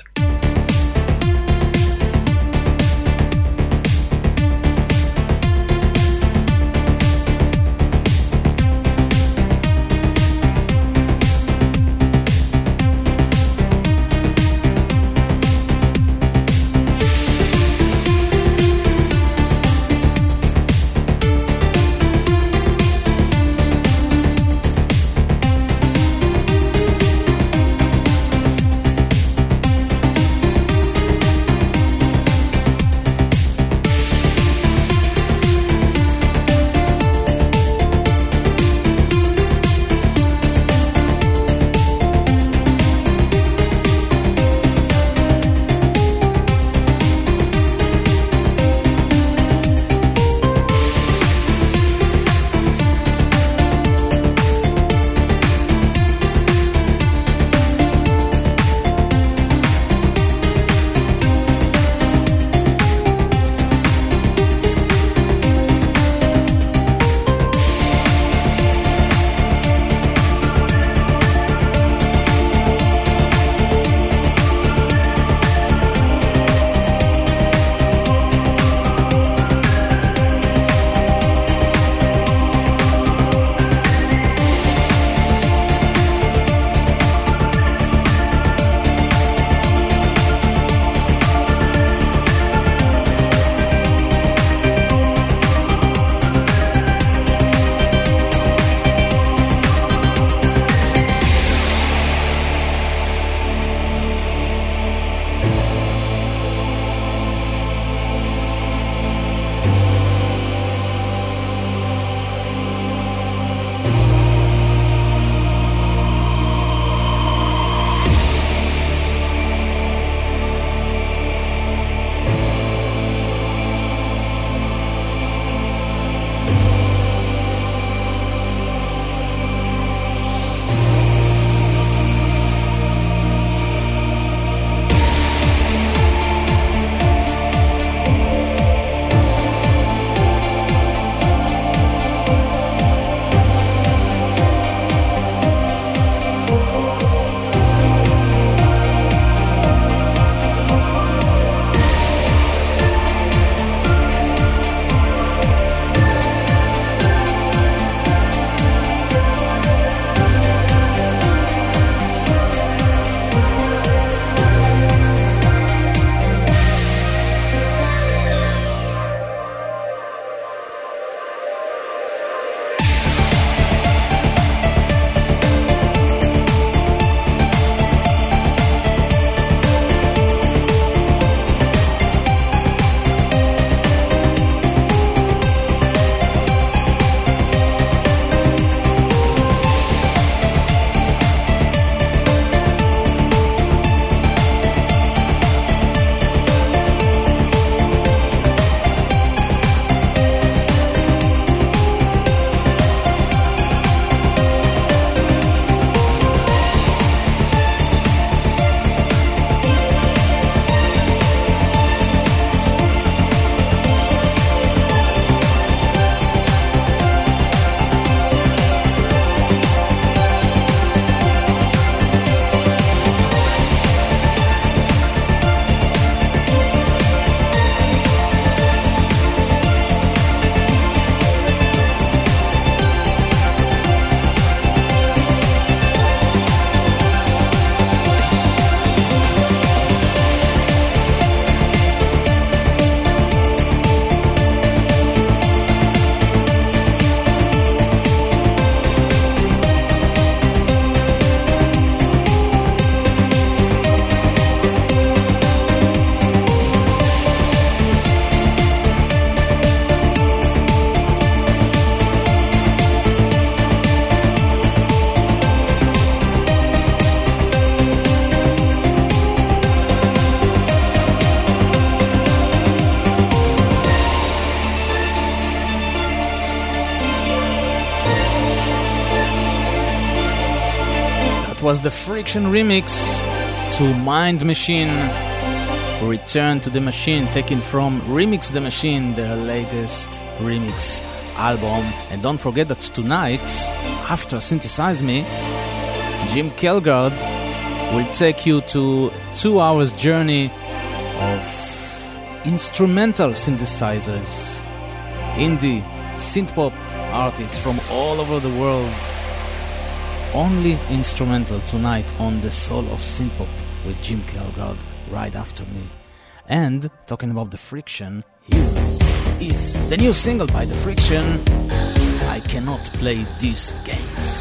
was the Friction remix to Mind Machine, Return to the Machine, taken from Remix the Machine, their latest remix album. And don't forget that tonight, after Synthesize Me, Jim Kelgard will take you to two hours journey of instrumental synthesizers, indie, synthpop artists from all over the world. Only instrumental tonight on the Soul of Synthpop with Jim Kelgard right after me. And talking about the Friction, here is the new single by the Friction, I Cannot Play These Games.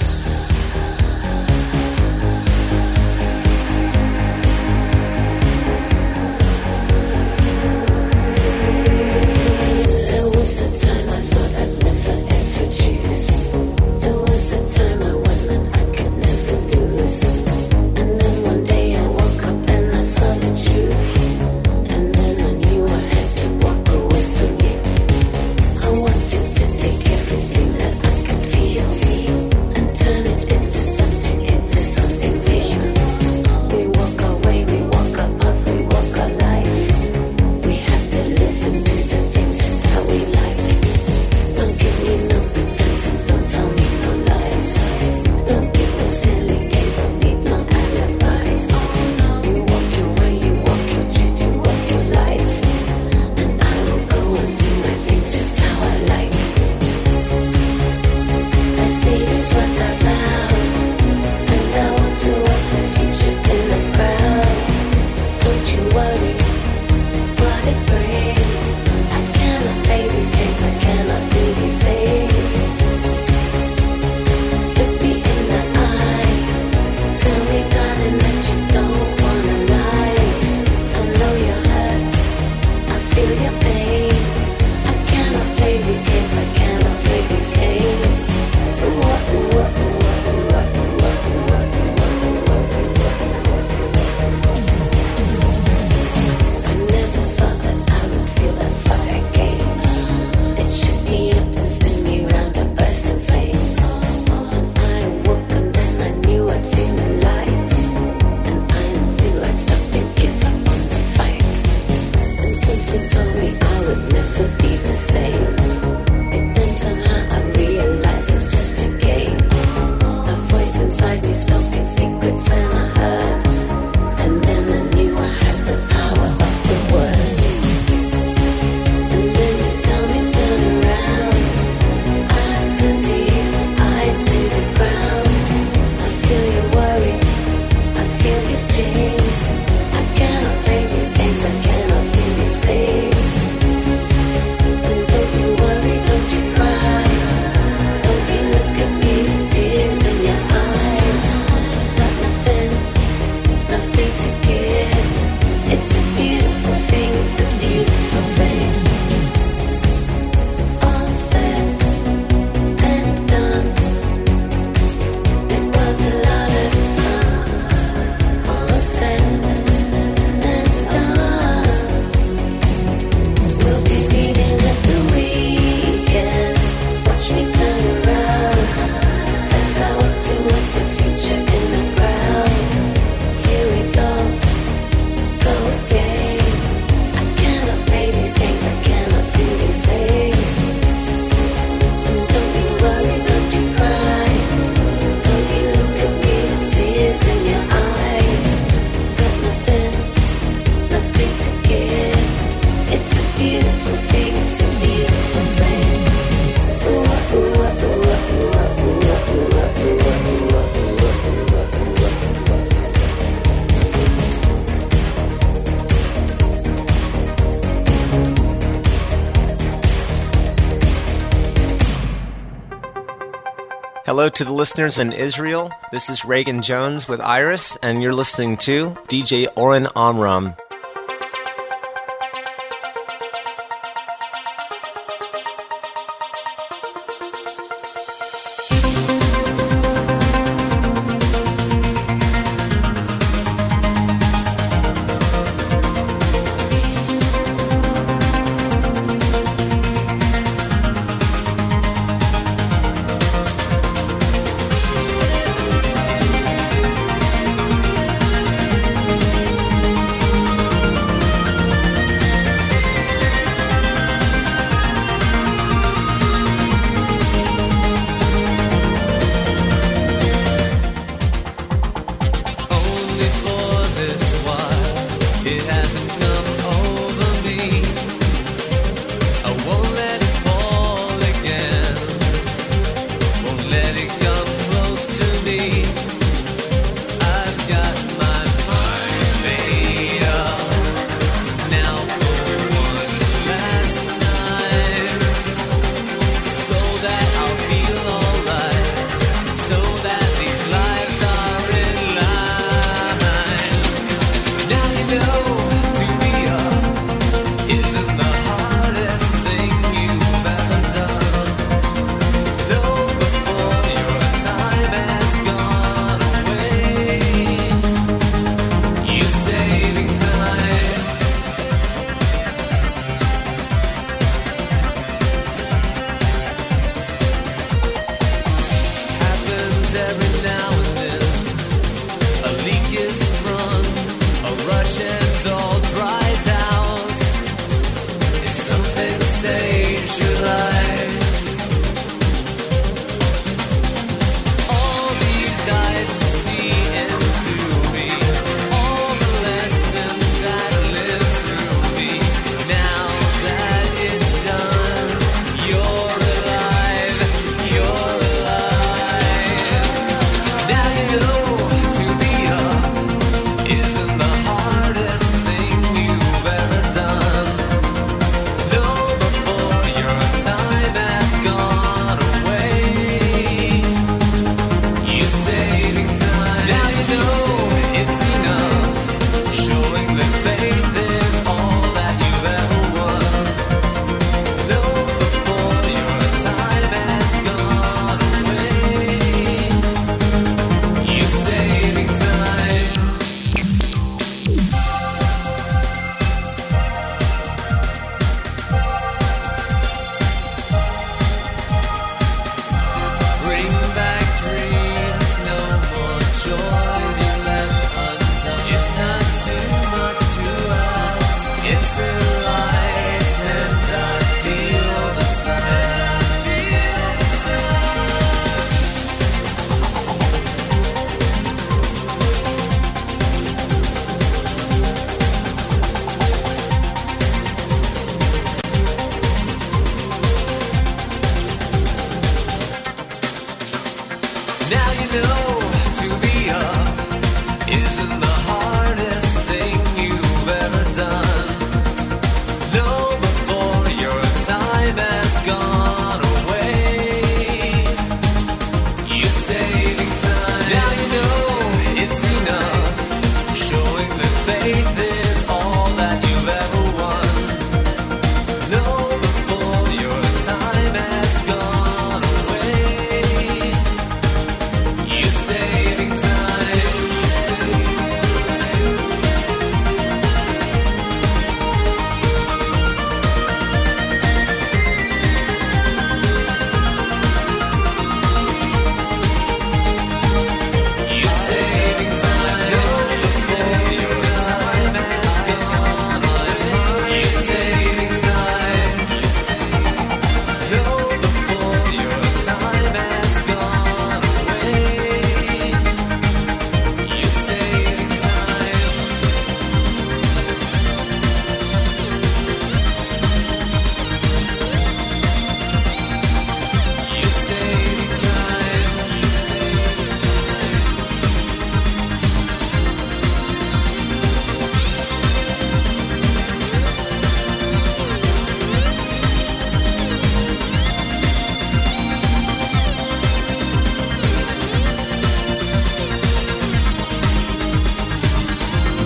Hello to the listeners in Israel. This is Reagan Jones with Iris, and you're listening to D J Oren Amram.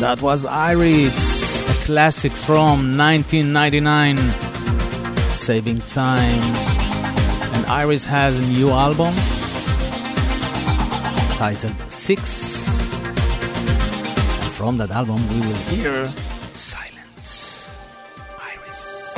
That was Iris, a classic from nineteen ninety-nine, Saving Time. And Iris has a new album titled Six. And from that album we will hear Silence. Iris.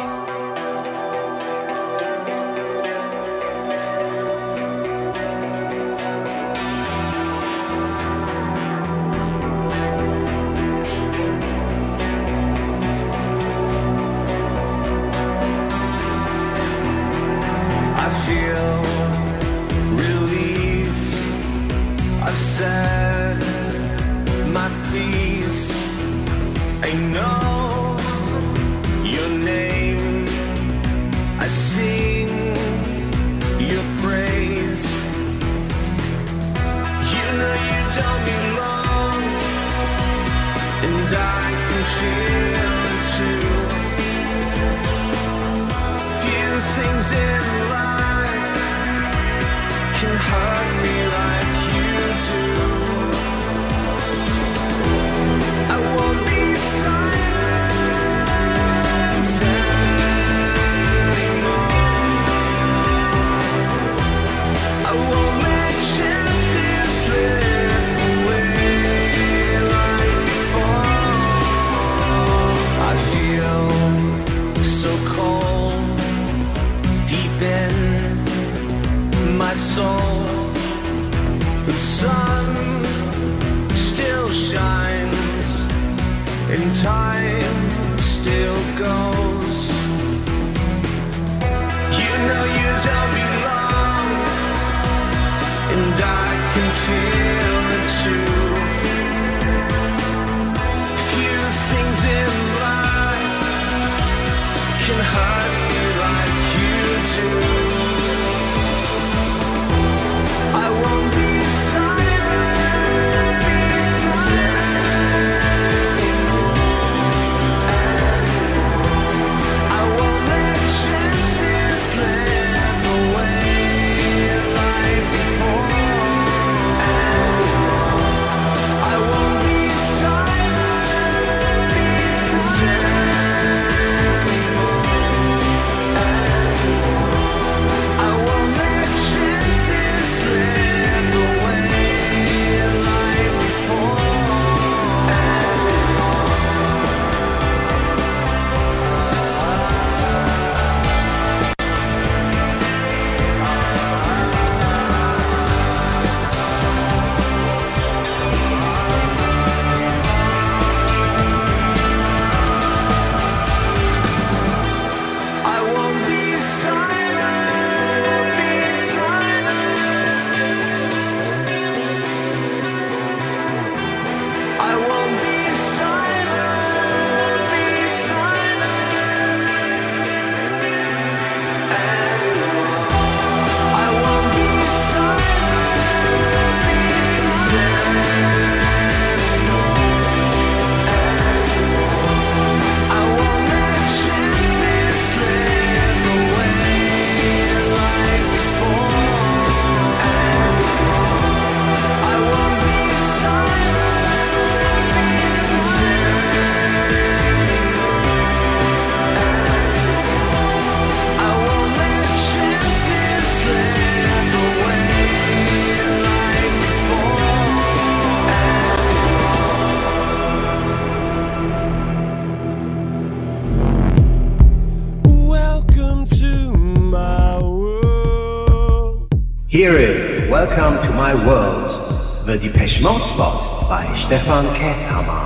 I feel relief. I've said my piece. I know your name. I sing your praise. You know you don't belong, and I can feel it too. Few things in life can hurt me like you do. I won't be silent anymore. I won't let chances slip away like before. I feel so cold deep in my soul. The sun still shines and time still goes. You know you don't belong, and I can feel it too. Few things in life can hurt me like you do. I won't be silent anymore. I won't let chances slip away like before. I won't be silent anymore. I won't let chances slip away like before. I won't be silent, be silent. I won't be silent, be silent. I won't be silent, be silent. I won't let chances slip away like before. I won't be silent, be silent. I won't let chances slip away like before. Welcome to my world. Here is Welcome to My World, the Depeche Mode spot by Stefan Käshammer.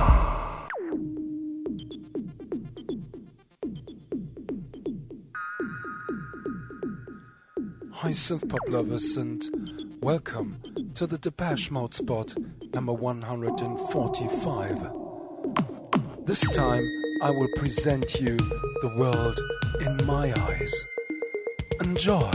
Hi synth pop lovers and welcome to the Depeche Mode spot number one hundred forty-five. This time I will present you the world in my eyes. Enjoy!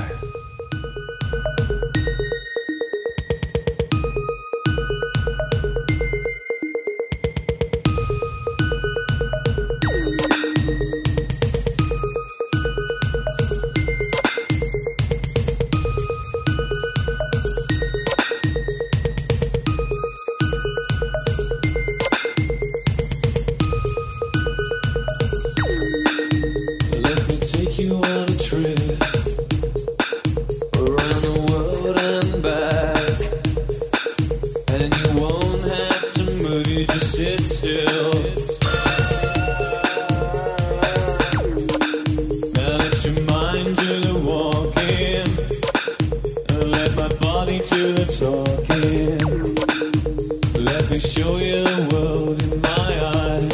still. Now let your mind do the walking, and let my body do the talking. Let me show you the world in my eyes.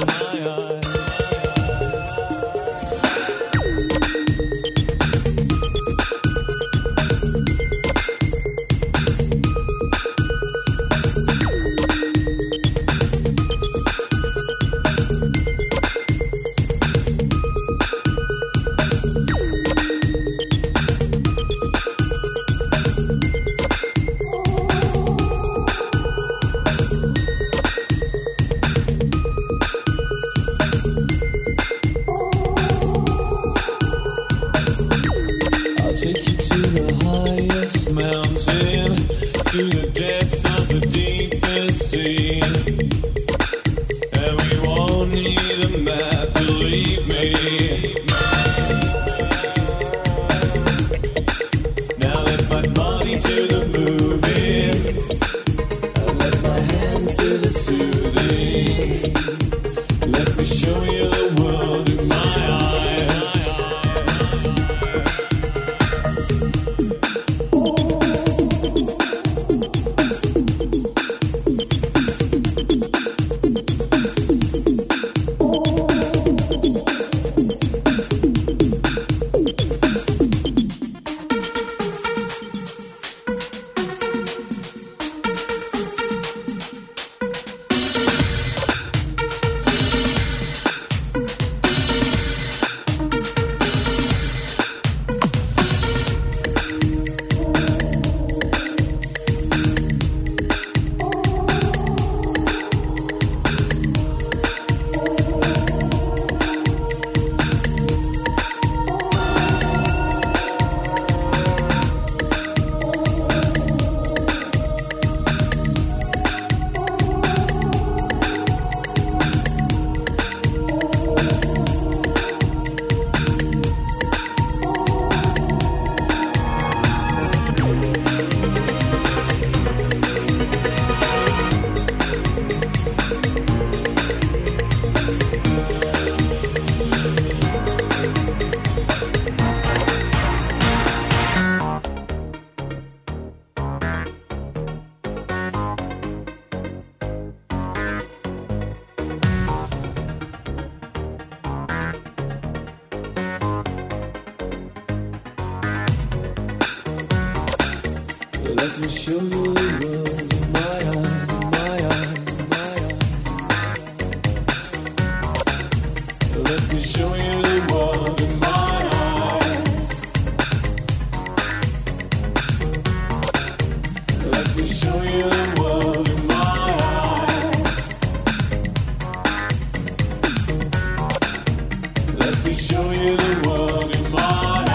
Let me show you the world in my eyes, my eyes, my eyes. Let me show you the world in my eyes. Let me show you the world in my eyes. Let me show you the world in my eyes.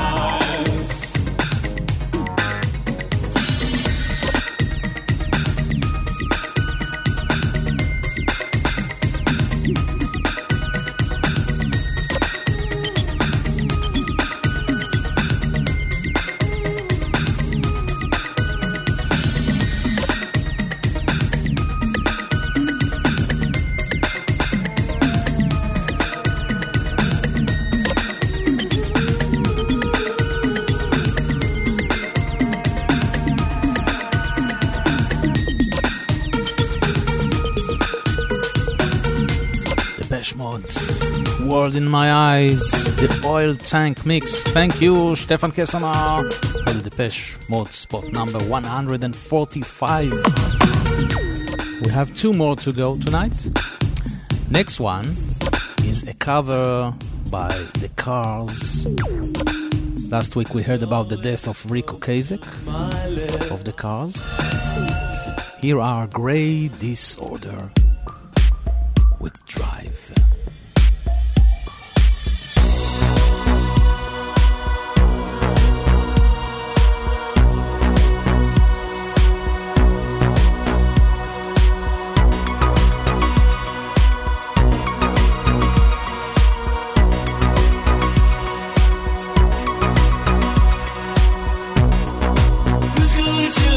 World in My Eyes, the Oil Tank Mix. Thank you, Stefan Kessamar, for the Depeche Mode spot number one hundred forty-five. We have two more to go tonight. Next one is a cover by The Cars. Last week we heard about the death of Rick Ocasek of The Cars. Here are Grey Disorder with Drive.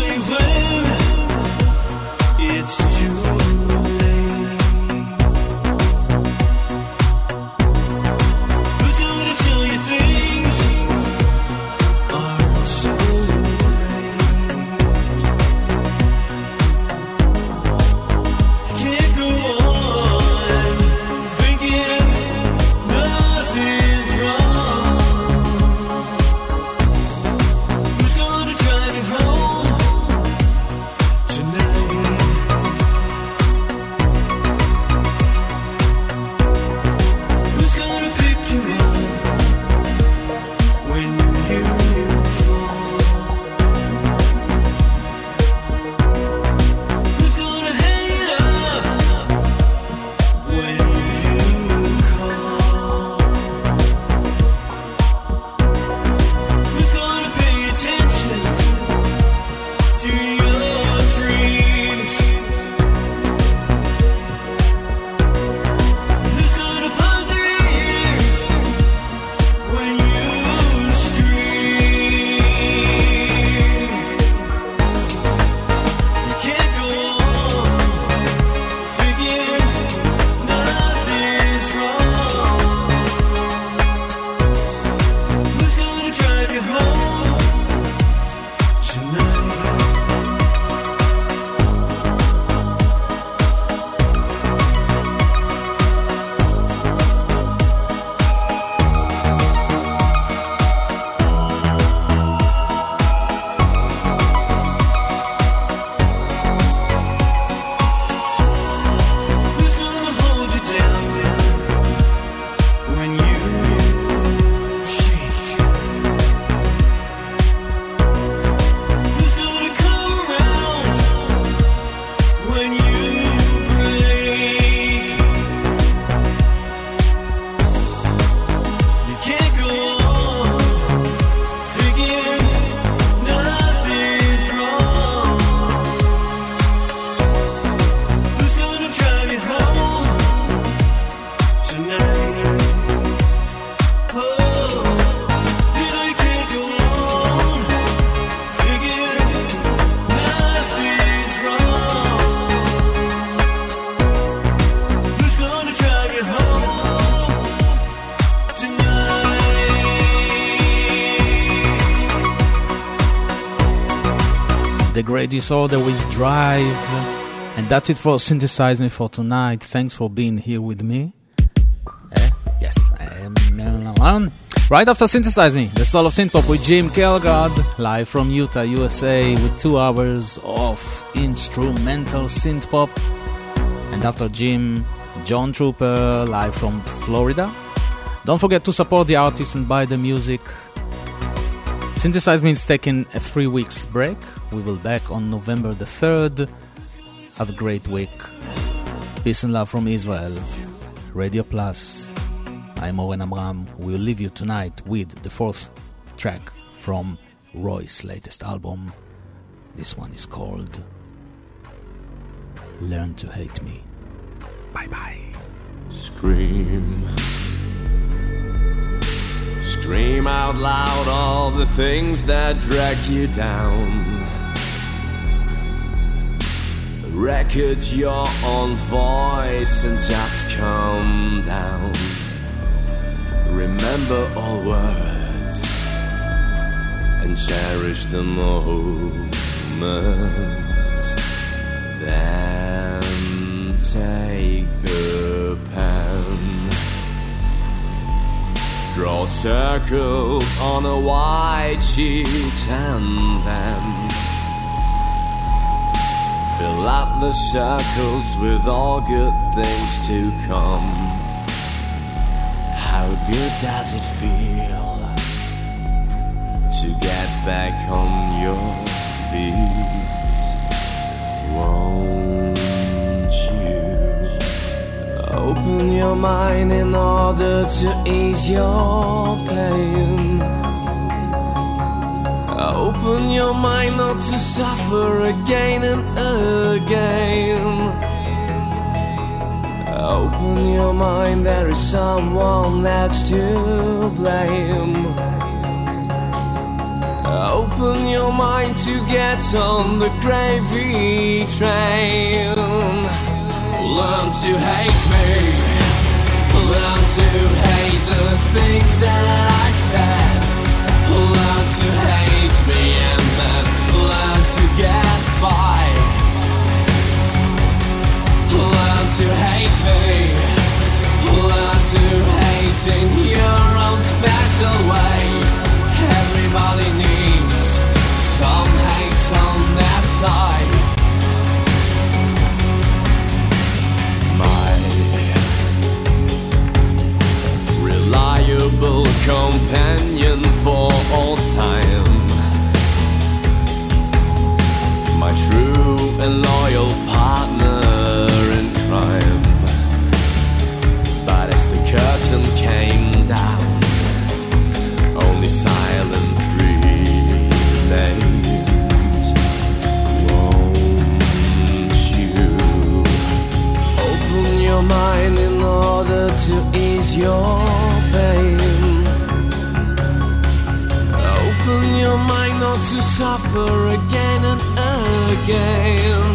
It's too late. The Great Disorder with Drive. And that's it for Synthesize Me for tonight. Thanks for being here with me. Eh? Yes. Um, right after Synthesize Me, the Soul of Synthpop with Jim Kelgard, live from Utah, U S A, with two hours of instrumental synthpop. And after Jim, John Trooper, live from Florida. Don't forget to support the artist and buy the music. Synthesize Me is taking a three weeks break. We will back on November the third. Have a great week. Peace and love from Israel. Radio Plus. I'm Oren Amram. We'll leave you tonight with the fourth track from Roy's latest album. This one is called Learn to Hate Me. Bye bye. Scream. Scream out loud all the things that drag you down. Record your own voice and just calm down. Remember all words and cherish the moment. Then take the pen. Draw circles on a white sheet and then fill up the circles with all good things to come. How good does it feel to get back on your feet? Won't you open your mind in order to ease your pain? Open your mind not to suffer again and again. Open your mind, there is someone that's to blame. Open your mind to get on the gravy train. Learn to hate me. Learn to hate the things that I said. Learn to hate me and then learn to get by. Learn to hate me. Learn to hate in your own special way. Everybody needs some hate on their side. My reliable companion for all time, my true and loyal partner in crime. But as the curtain came down, only silence remained. Won't you open your mind in order to ease your pain? Open your mind not to suffer again and again.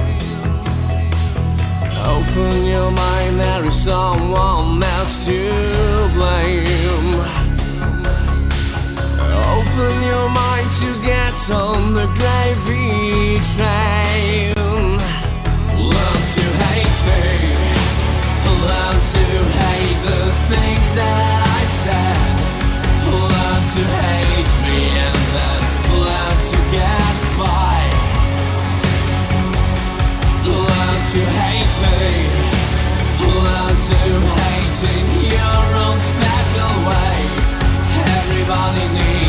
Open your mind, there is someone else to blame. Open your mind to get on the gravy train. Learn to hate me. Learn to hate the things that I said. Learn to hate me and then learn to get by. Learn to hate me. Learn to hate in your own special way. Everybody needs